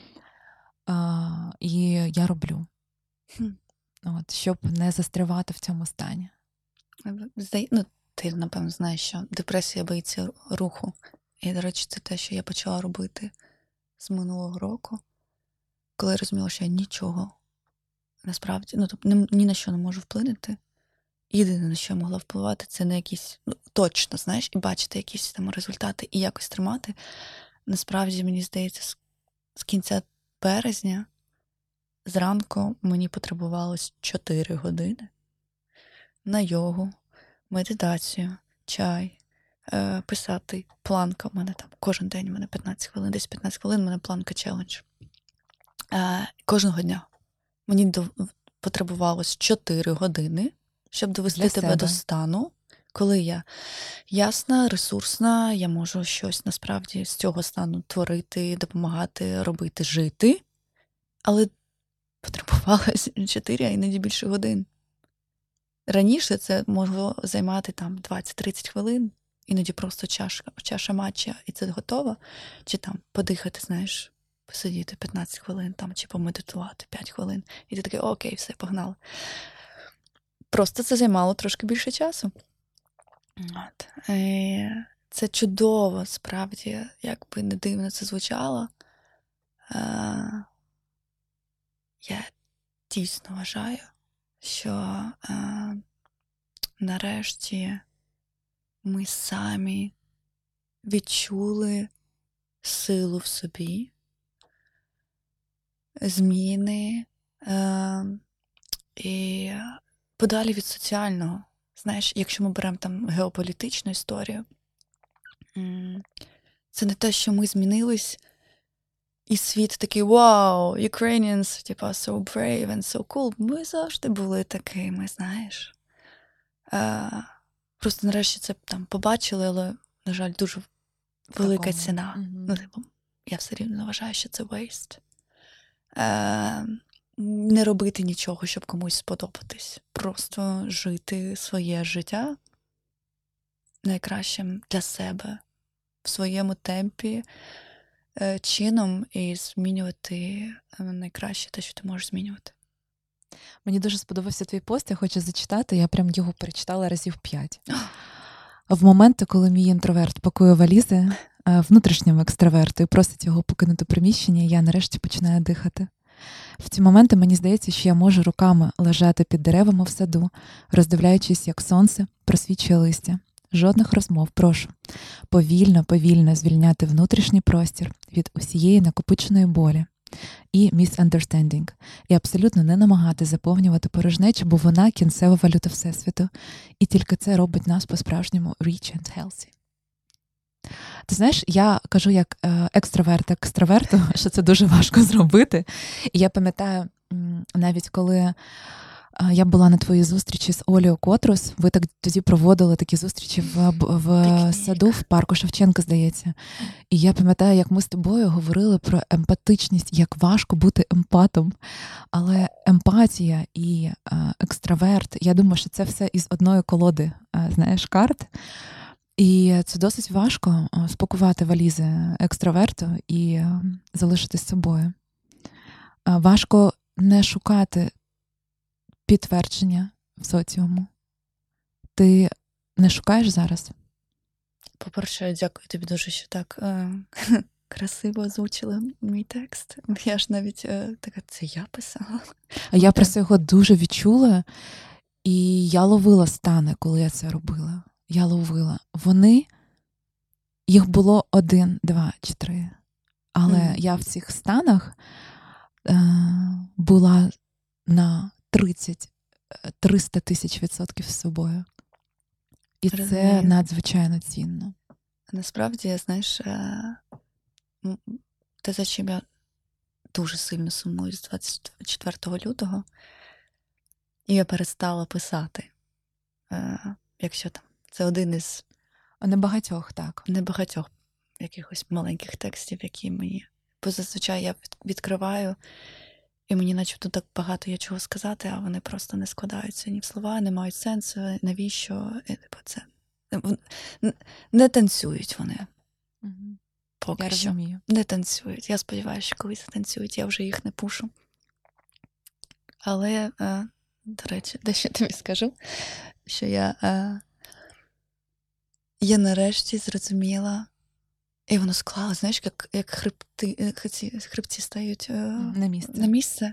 C: А, і я роблю.
B: Хм.
C: От, щоб не застрявати в цьому стані.
B: Здає- Ну, ти, напевно, знаєш, що депресія боїться руху. І, до речі, це те, що я почала робити з минулого року, коли я розуміла, що я нічого насправді, ну, тобто ні, ні на що не можу вплинути. Єдине, на що я могла впливати, це на якісь, ну, точно, знаєш, і бачити якісь там результати і якось тримати. Насправді, мені здається, з, з кінця березня зранку мені потребувалось чотири години на йогу, медитацію, чай, е, писати. Планка в мене там кожен день, у мене п'ятнадцять хвилин, десь п'ятнадцять хвилин, у мене планка челендж. Е, кожного дня. Мені до, потребувалось чотири години, щоб довести
C: Для
B: тебе
C: себе.
B: до стану, коли я ясна, ресурсна, я можу щось насправді з цього стану творити, допомагати, робити, жити. Але потребувалось чотири, а іноді більше годин. Раніше це могло займати там двадцять-тридцять хвилин, іноді просто чашка, чаша матча, і це готово. Чи там подихати, знаєш, посидіти п'ятнадцять хвилин, там, чи помедитувати п'ять хвилин. І ти такий, окей, все, погнали. Просто це займало трошки більше часу. От. Е, це чудово, справді, як би не дивно це звучало. Е, я дійсно вважаю, що е, нарешті ми самі відчули силу в собі, зміни е, і подалі від соціального. Знаєш, якщо ми беремо там геополітичну історію, це не те, що ми змінились, і світ такий «Вау, Ukrainians, типа, so brave and so cool». Ми завжди були такими, знаєш. Е, просто нарешті це там побачили, але, на жаль, дуже велика
C: Такому.
B: ціна.
C: Мгм.
B: Ну, типу, я все рівно вважаю, що це waste. Е, не робити нічого, щоб комусь сподобатись. Просто жити своє життя найкращим для себе, в своєму темпі, е, чином, і змінювати е, найкраще те, що ти можеш змінювати.
C: Мені дуже сподобався твій пост, я хочу зачитати, я прям його перечитала разів п'ять. В моменти, коли мій інтроверт пакує валізи е, внутрішньому екстраверту і просить його покинути приміщення, я нарешті починаю дихати. В ці моменти мені здається, що я можу руками лежати під деревами в саду, роздивляючись, як сонце просвічує листя. Жодних розмов, прошу. Повільно, повільно звільняти внутрішній простір від усієї накопиченої болі і misunderstanding. І абсолютно не намагати заповнювати порожнечу, бо вона кінцева валюта Всесвіту. І тільки це робить нас по-справжньому rich and healthy. Ти знаєш, я кажу як е, екстраверт екстраверту, що це дуже важко зробити. І я пам'ятаю, м, навіть коли е, я була на твоїй зустрічі з Олею Котрус, ви так тоді проводили такі зустрічі в, б- в
B: Пікнік.
C: саду, в парку Шевченка, здається. І я пам'ятаю, як ми з тобою говорили про емпатичність, як важко бути емпатом. Але емпатія і е, екстраверт, я думаю, що це все із одної колоди, е, знаєш, карт. І це досить важко е, спакувати валізи екстраверту і е, залишитись собою. Е, Важко не шукати підтвердження в соціуму. Ти не шукаєш зараз?
B: По-перше, дякую тобі дуже, що так е, красиво озвучила мій текст. Я ж навіть е, така, це я писала.
C: А я
B: Окей.
C: просто його дуже відчула, і я ловила стани, коли я це робила. Я ловила. Вони, їх було один, два чи три. Але
B: Мгм.
C: я в цих станах е, була на тридцять триста тисяч відсотків з собою. І це
B: Розумію.
C: надзвичайно цінно.
B: Насправді, знаєш, е, м, те, за чим я дуже сильно сумую з двадцять четвертого лютого, і я перестала писати. Е, якщо там, це один із
C: Небагатьох, так.
B: небагатьох якихось маленьких текстів, які мені. Бо зазвичай я від- відкриваю, і мені начебто так багато є чого сказати, а вони просто не складаються ні в слова, не мають сенсу, навіщо. І, типу, це в- н- не танцюють вони
C: Мгм.
B: поки
C: Я
B: що.
C: розумію.
B: Не танцюють. Я сподіваюся, що колись танцюють, я вже їх не пушу. Але, е, до речі, дещо тобі скажу, що я, е, я нарешті зрозуміла, і воно склало, знаєш, як, як хребти, е, ці хребці стають е,
C: На місце.
B: на місце.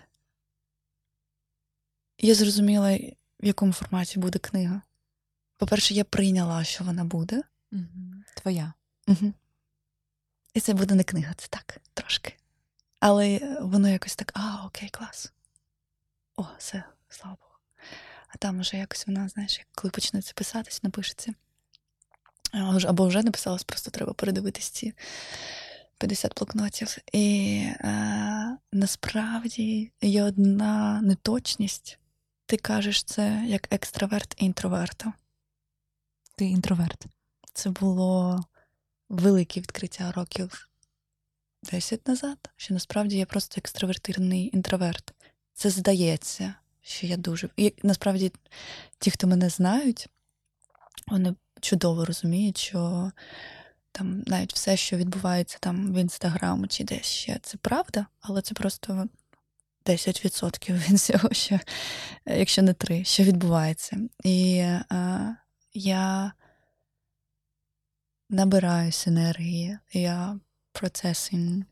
B: Я зрозуміла, в якому форматі буде книга. По-перше, я прийняла, що вона буде.
C: Мгм. Твоя.
B: Угу. І це буде не книга, це так, трошки. Але воно якось так, а, окей, клас. О, все, слава Богу. А там уже якось вона, знаєш, як коли почнеться писатись, напишеться. А вже- Або вже написалось, просто треба передивитись ці п'ятдесят блокнотів. І е, насправді є одна неточність. Ти кажеш це як екстраверт інтроверта.
C: Ти інтроверт.
B: Це було велике відкриття років десять назад, що насправді я просто екстравертирований інтроверт. Це здається, що я дуже. І насправді ті, хто мене знають, вони чудово розуміють, що там навіть все, що відбувається там в інстаграмі чи десь ще, це правда, але це просто десять відсотків від всього, що, якщо не три, що відбувається. І е, я набираюсь енергії, я процесинг,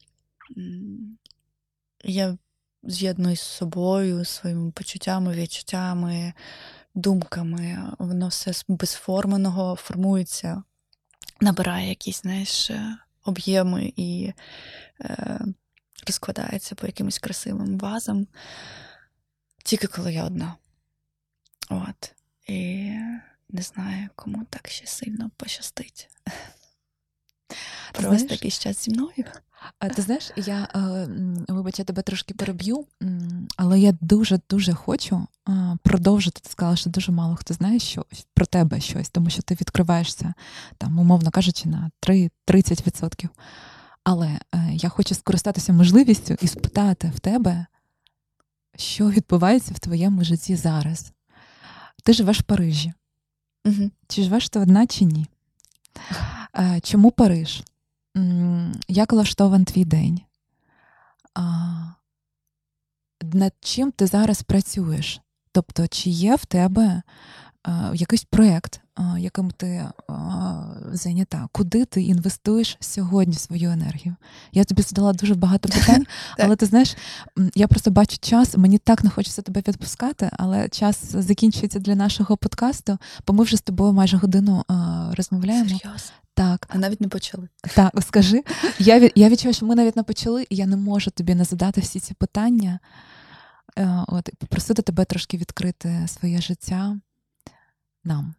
B: я з'єднуюсь з собою, своїми почуттями, відчуттями, думками. Воно все з безформеного формується, набирає якісь, знаєш, об'єми і е, розкладається по якимось красивим вазам. Тільки коли я одна. От. І не знаю, кому так ще сильно пощастить. Провести
C: Знаєш,
B: якийсь час зі мною.
C: А ти знаєш, я, е, м, вибач, я тебе трошки переб'ю, м, але я дуже-дуже хочу е, продовжити. Ти сказала, що дуже мало хто знає що, про тебе щось, тому що ти відкриваєшся, там, умовно кажучи, на три-тридцять відсотків. Але е, я хочу скористатися можливістю і спитати в тебе, що відбувається в твоєму житті зараз. Ти живеш в Парижі.
B: Угу.
C: Чи живеш ти одна, чи ні? Е, Чому Париж? М, Як влаштований твій день? А, Над чим ти зараз працюєш? Тобто, чи є в тебе а, якийсь проєкт, а, яким ти а, зайнята? Куди ти інвестуєш сьогодні свою енергію? Я тобі задала дуже багато питань, але ти знаєш, м, я просто бачу час, мені так не хочеться тебе відпускати, але час закінчується для нашого подкасту, бо ми вже з тобою майже годину а, розмовляємо.
B: Серйозно?
C: Так.
B: А навіть не почали.
C: Так, скажи. Я, від, я відчуваю, що ми навіть не почали, і я не можу тобі не задати всі ці питання. Е, От, і попросити тебе трошки відкрити своє життя нам.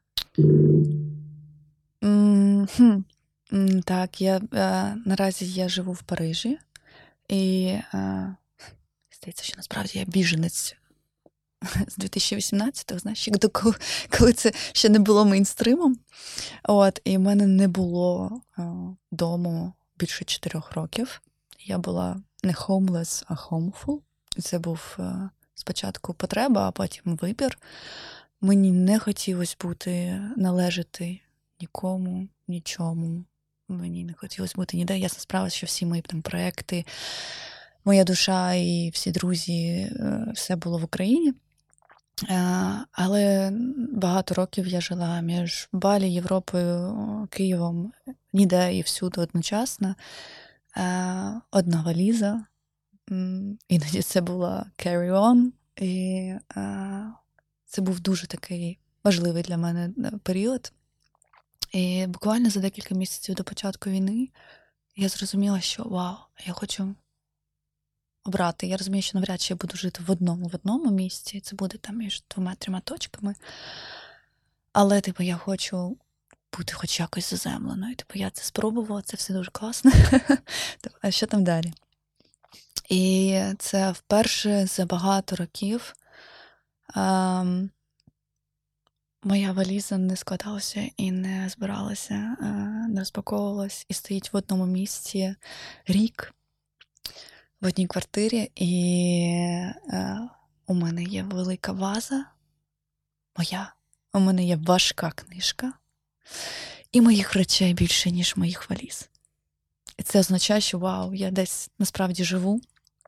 B: М, хм. М, Так, я е, наразі я живу в Парижі, і е, здається, що насправді я біженець з дві тисячі вісімнадцятого, знаєш, як до коли, коли це ще не було мейнстримом. От, і в мене не було е, дому більше чотирьох років. Я була не homeless, а homeful. І це був е, спочатку потреба, а потім вибір. Мені не хотілося бути, належати нікому, нічому. Мені не хотілося бути ніде. Ясна справа, що всі мої там проекти, моя душа і всі друзі, е, все було в Україні. Е, Але багато років я жила між Балі, Європою, Києвом, ніде і всюди одночасно. Е, Одна валіза. М, Іноді це була carry-on. І е, це був дуже такий важливий для мене е, період. І буквально за декілька місяців до початку війни я зрозуміла, що вау, я хочу обрати. Я розумію, що навряд чи я буду жити в одному в одному місці. Це буде там між двома-трьома точками. Але, типу, я хочу бути хоч якось заземленою. Типу, я це спробувала, це все дуже класно. А що там далі? І це вперше за багато років ем, моя валіза не складалася і не збиралася, е, не розпаковувалась, і стоїть в одному місці рік в одній квартирі, і е, у мене є велика ваза моя, у мене є важка книжка, і моїх речей більше, ніж моїх валіз. І це означає, що вау, я десь насправді живу.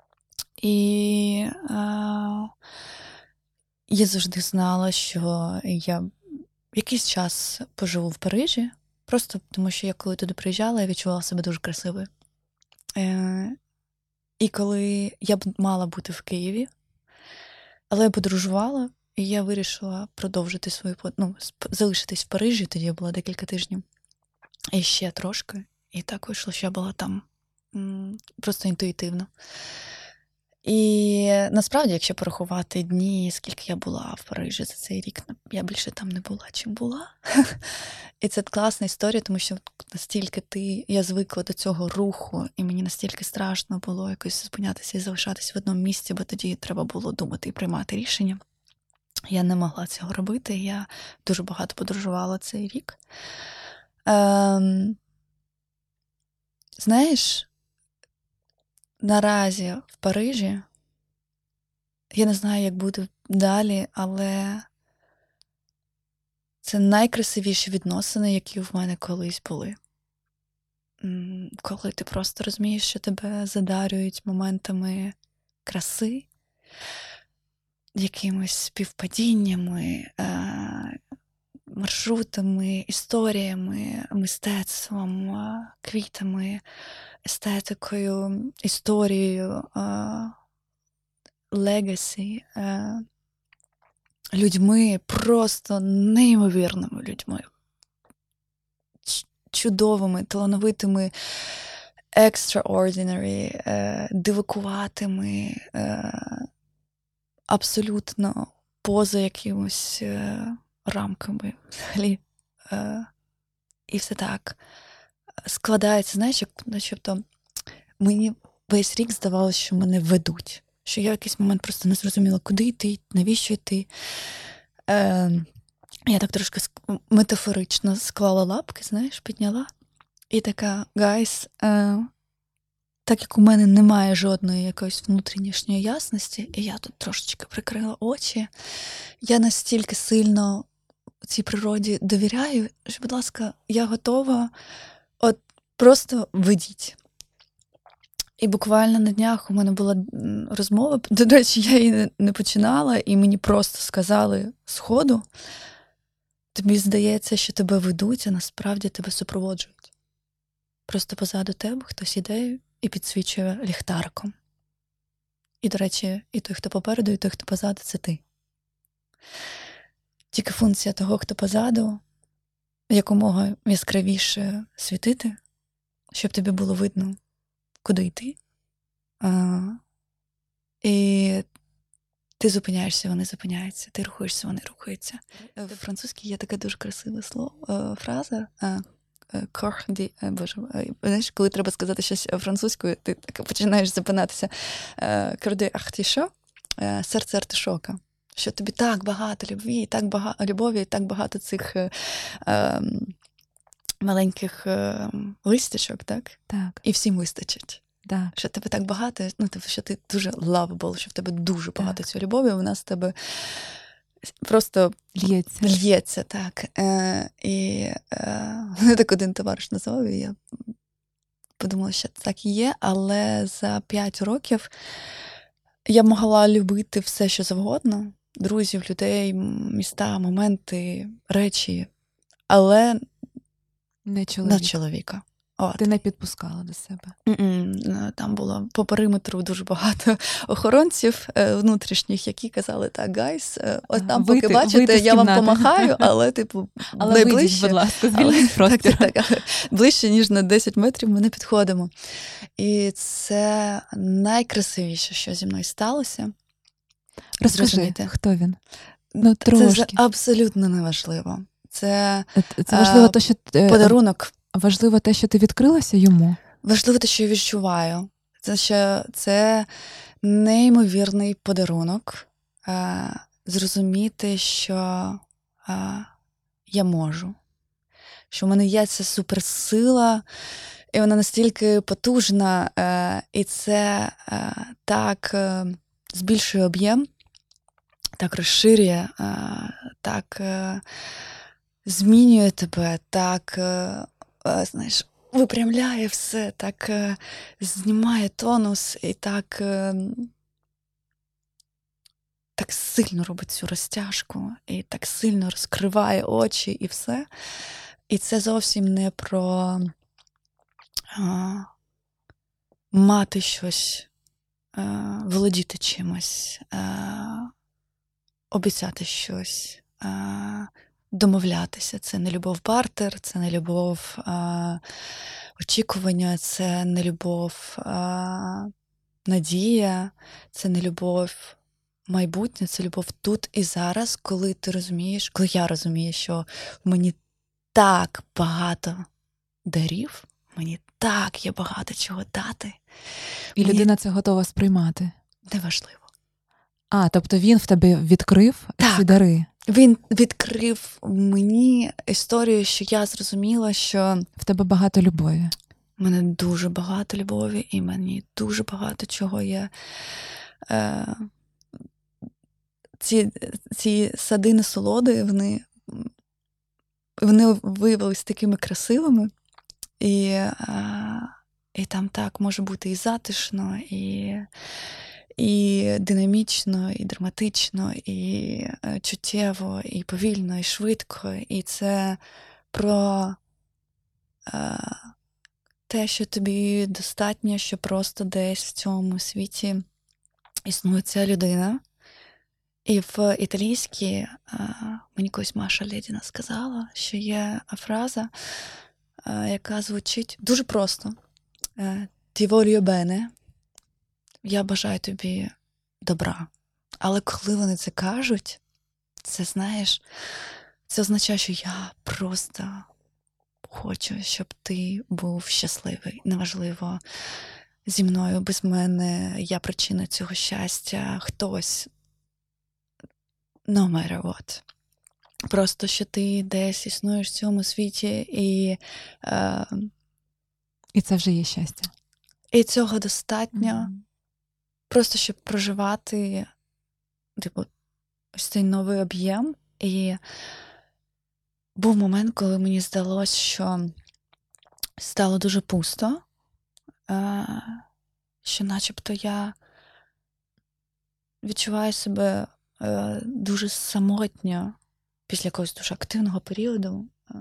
B: І е, я завжди знала, що я якийсь час поживу в Парижі, просто тому що я коли туди приїжджала, я відчувала себе дуже красивою. Е, і коли я б мала бути в Києві, але я подорожувала, і я вирішила продовжити свою, ну, залишитись в Парижі, тоді я була декілька тижнів, і ще трошки. І так вийшло, що я була там м, просто інтуїтивно. І насправді, якщо порахувати дні, скільки я була в Парижі за цей рік, я більше там не була, чим була. І це класна історія, тому що настільки ти, я звикла до цього руху, і мені настільки страшно було якось зупинятися і залишатися в одному місці, бо тоді треба було думати і приймати рішення. Я не могла цього робити, я дуже багато подорожувала цей рік. Ем, знаєш, наразі в Парижі, я не знаю, як буде далі, але це найкрасивіші відносини, які в мене колись були. Коли ти просто розумієш, що тебе задарюють моментами краси, якимись співпадіннями, маршрутами, історіями, мистецтвом, квітами, естетикою, історією, легасі, людьми, просто неймовірними людьми, чудовими, талановитими, extraordinary, дивакуватими, абсолютно поза якимось рамками взагалі. І все так складається, знаєш, як начебто мені весь рік здавалося, що мене ведуть. Що я в якийсь момент просто не зрозуміла, куди йти, навіщо йти. Е, я так трошки метафорично склала лапки, знаєш, підняла. І така, гайс, е, так як у мене немає жодної якоїсь внутрішньої ясності, і я тут трошечки прикрила очі, я настільки сильно цій природі довіряю, що, будь ласка, я готова, от просто ведіть. І буквально на днях у мене була розмова, до речі, я її не починала, і мені просто сказали сходу, тобі здається, що тебе ведуть, а насправді тебе супроводжують. Просто позаду тебе хтось іде і підсвічує ліхтариком. І, до речі, і той, хто попереду, і той, хто позаду, це ти. Тільки функція того, хто позаду, якомога яскравіше світити, щоб тобі було видно, куди йти. А, і ти зупиняєшся, вони зупиняються. Ти рухаєшся, вони рухаються. В французькій є така дуже красива слово, фраза. Corps de... Боже, знаєш, коли треба сказати щось французькою, ти так починаєш запинатися. Corps de artichaut, серце артишока. Що тобі так багато любві, так багато любові, так багато цих е, е, маленьких е, листячок, так?
C: Так.
B: І всім вистачить.
C: Так.
B: Що тебе так багато, ну, що ти дуже lovable, що в тебе дуже багато цієї любові, вона з тебе просто
C: лється.
B: лється, так. Е, і е, мене так один товариш назвав, і я подумала, що так і є, але за п'ять років я могла любити все, що завгодно, друзів, людей, міста, моменти, речі, але
C: не чоловіка.
B: на чоловіка. От.
C: Ти не підпускала до себе?
B: Mm-mm. Там було по периметру дуже багато охоронців внутрішніх, які казали, так, гайс, от там,
C: вийти,
B: поки бачите, я вам помахаю, але, типу,
C: але
B: найближче.
C: Вийдіть, будь ласка, звільніть простір.
B: Так, так, так. Ближче, ніж на десять метрів ми не підходимо. І це найкрасивіше, що зі мною сталося.
C: Розкажи,
B: Зрозуміти.
C: Хто він? Ну, трошки.
B: Це абсолютно неважливо. Це,
C: це важливо, те, що
B: подарунок.
C: Важливо те, що ти відкрилася йому?
B: Важливо те, що я відчуваю. Це, що це неймовірний подарунок. А, зрозуміти, що а, я можу. Що в мене є ця суперсила, і вона настільки потужна, а, і це а, так а, збільшує об'єм, так розширює, а, так а, змінює тебе, так, а, а, знаєш, випрямляє все, так а, знімає тонус і так, а, так сильно робить цю розтяжку, і так сильно розкриває очі і все. І це зовсім не про а, мати щось, а, володіти чимось, а, обіцяти щось, а, домовлятися. Це не любов бартер, це не любов а, очікування, це не любов а, надія, це не любов майбутнє, це любов тут і зараз, коли ти розумієш, коли я розумію, що мені так багато дарів, мені так є багато чого дати.
C: І
B: мені...
C: людина це готова сприймати.
B: Неважливо.
C: А, тобто він в тебе відкрив
B: так.
C: ці дари?
B: Він відкрив мені історію, що я зрозуміла, що...
C: В тебе багато любові.
B: В мене дуже багато любові, і мені дуже багато чого є. Е... Ці, ці сади насолоди, вони, вони виявилися такими красивими, і, а, і там так може бути і затишно, і, і динамічно, і драматично, і е, чуттєво, і повільно, і швидко. І це про е, те, що тобі достатньо, що просто десь в цьому світі існує ця людина. І в італійській е, мені колись Маша Лєдіна сказала, що є фраза, е, яка звучить дуже просто. Е, «Ti voglio bene», я бажаю тобі добра. Але коли вони це кажуть, це, знаєш, це означає, що я просто хочу, щоб ти був щасливий. Неважливо, зі мною, без мене, я причина цього щастя, хтось. No matter what. Просто, що ти десь існуєш в цьому світі, і, е,
C: І це вже є щастя.
B: і цього достатньо.
C: Mm-hmm.
B: Просто, щоб проживати, типу, ось цей новий об'єм. І був момент, коли мені здалося, що стало дуже пусто, е, що начебто я відчуваю себе е, дуже самотньо після якогось дуже активного періоду е,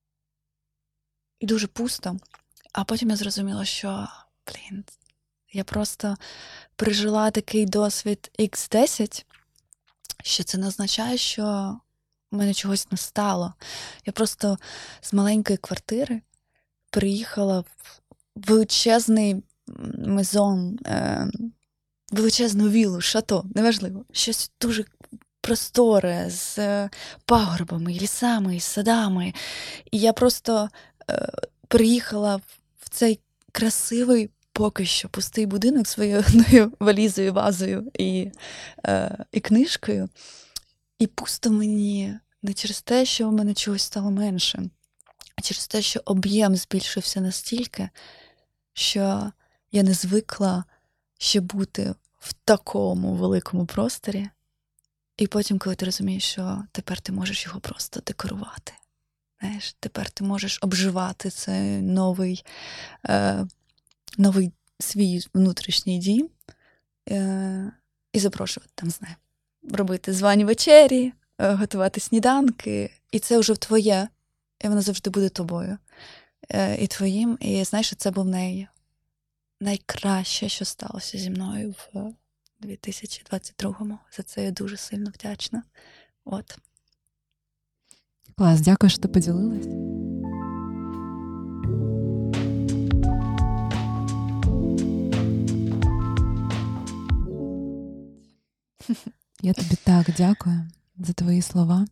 B: і дуже пусто. А потім я зрозуміла, що, блін, я просто пережила такий досвід ікс десять, що це не означає, що в мене чогось не стало. Я просто з маленької квартири приїхала в величезний мезон, е, величезну віллу, шато, неважливо, щось дуже просторе, з пагорбами, лісами, і садами. І я просто е, приїхала в цей красивий, поки що пустий будинок своєю одною валізою, вазою і, е, і книжкою. І пусто мені не через те, що в мене чогось стало менше, а через те, що об'єм збільшився настільки, що я не звикла ще бути в такому великому просторі. І потім, коли ти розумієш, що тепер ти можеш його просто декорувати. Знаєш, тепер ти можеш обживати цей новий, е, новий свій внутрішній дім е, і запрошувати там, знає, робити звані вечері, е, готувати сніданки. І це вже твоє, і воно завжди буде тобою. Е, і твоїм. І знаєш, це був най, найкраще, що сталося зі мною в дві тисячі двадцять другому. За це я дуже сильно вдячна. От.
C: Клас, дякую, що ти поділилась. Я тобі так дякую за твої слова,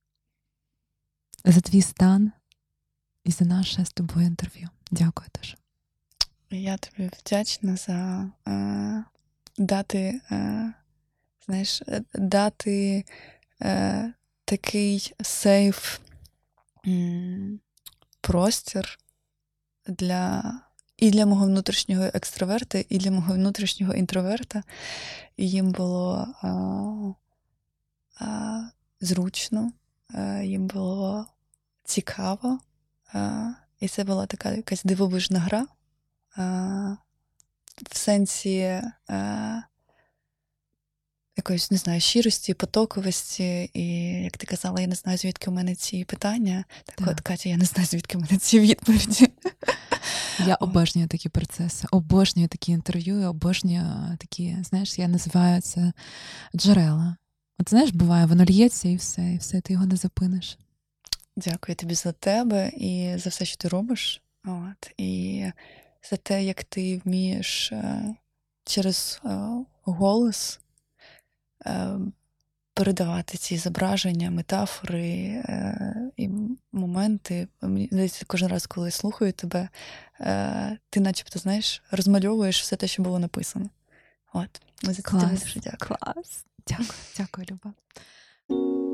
C: за твій стан і за наше з тобою інтерв'ю. Дякую дуже.
B: Я тобі вдячна за е, дати, е, знаєш, дати е, такий сейф м, простір для, і для мого внутрішнього екстраверта, і для мого внутрішнього інтроверта. І їм було а, а, зручно, а, їм було цікаво. А, і це була така якась дивовижна гра. А, в сенсі а, якоїсь, не знаю, щирості, потоковості. І, як ти казала, я не знаю, звідки у мене ці питання. Так, так. От, Катя, я не знаю, звідки у мене ці відповіді.
C: Я обожнюю такі процеси, обожнюю такі інтерв'ю, обожнюю такі, знаєш, я називаю це джерела. От знаєш, буває, воно л'ється і все, і все, ти його не зупиниш.
B: Дякую тобі за тебе і за все, що ти робиш. От, і за те, як ти вмієш е, через е, голос е, передавати ці зображення, метафори е, і моменти. Мені здається, кожен раз, коли я слухаю тебе, е, ти начебто, знаєш, розмальовуєш все те, що було написано. От. За це тобі дуже дякую.
C: Клас. Дякую, дякую, Люба.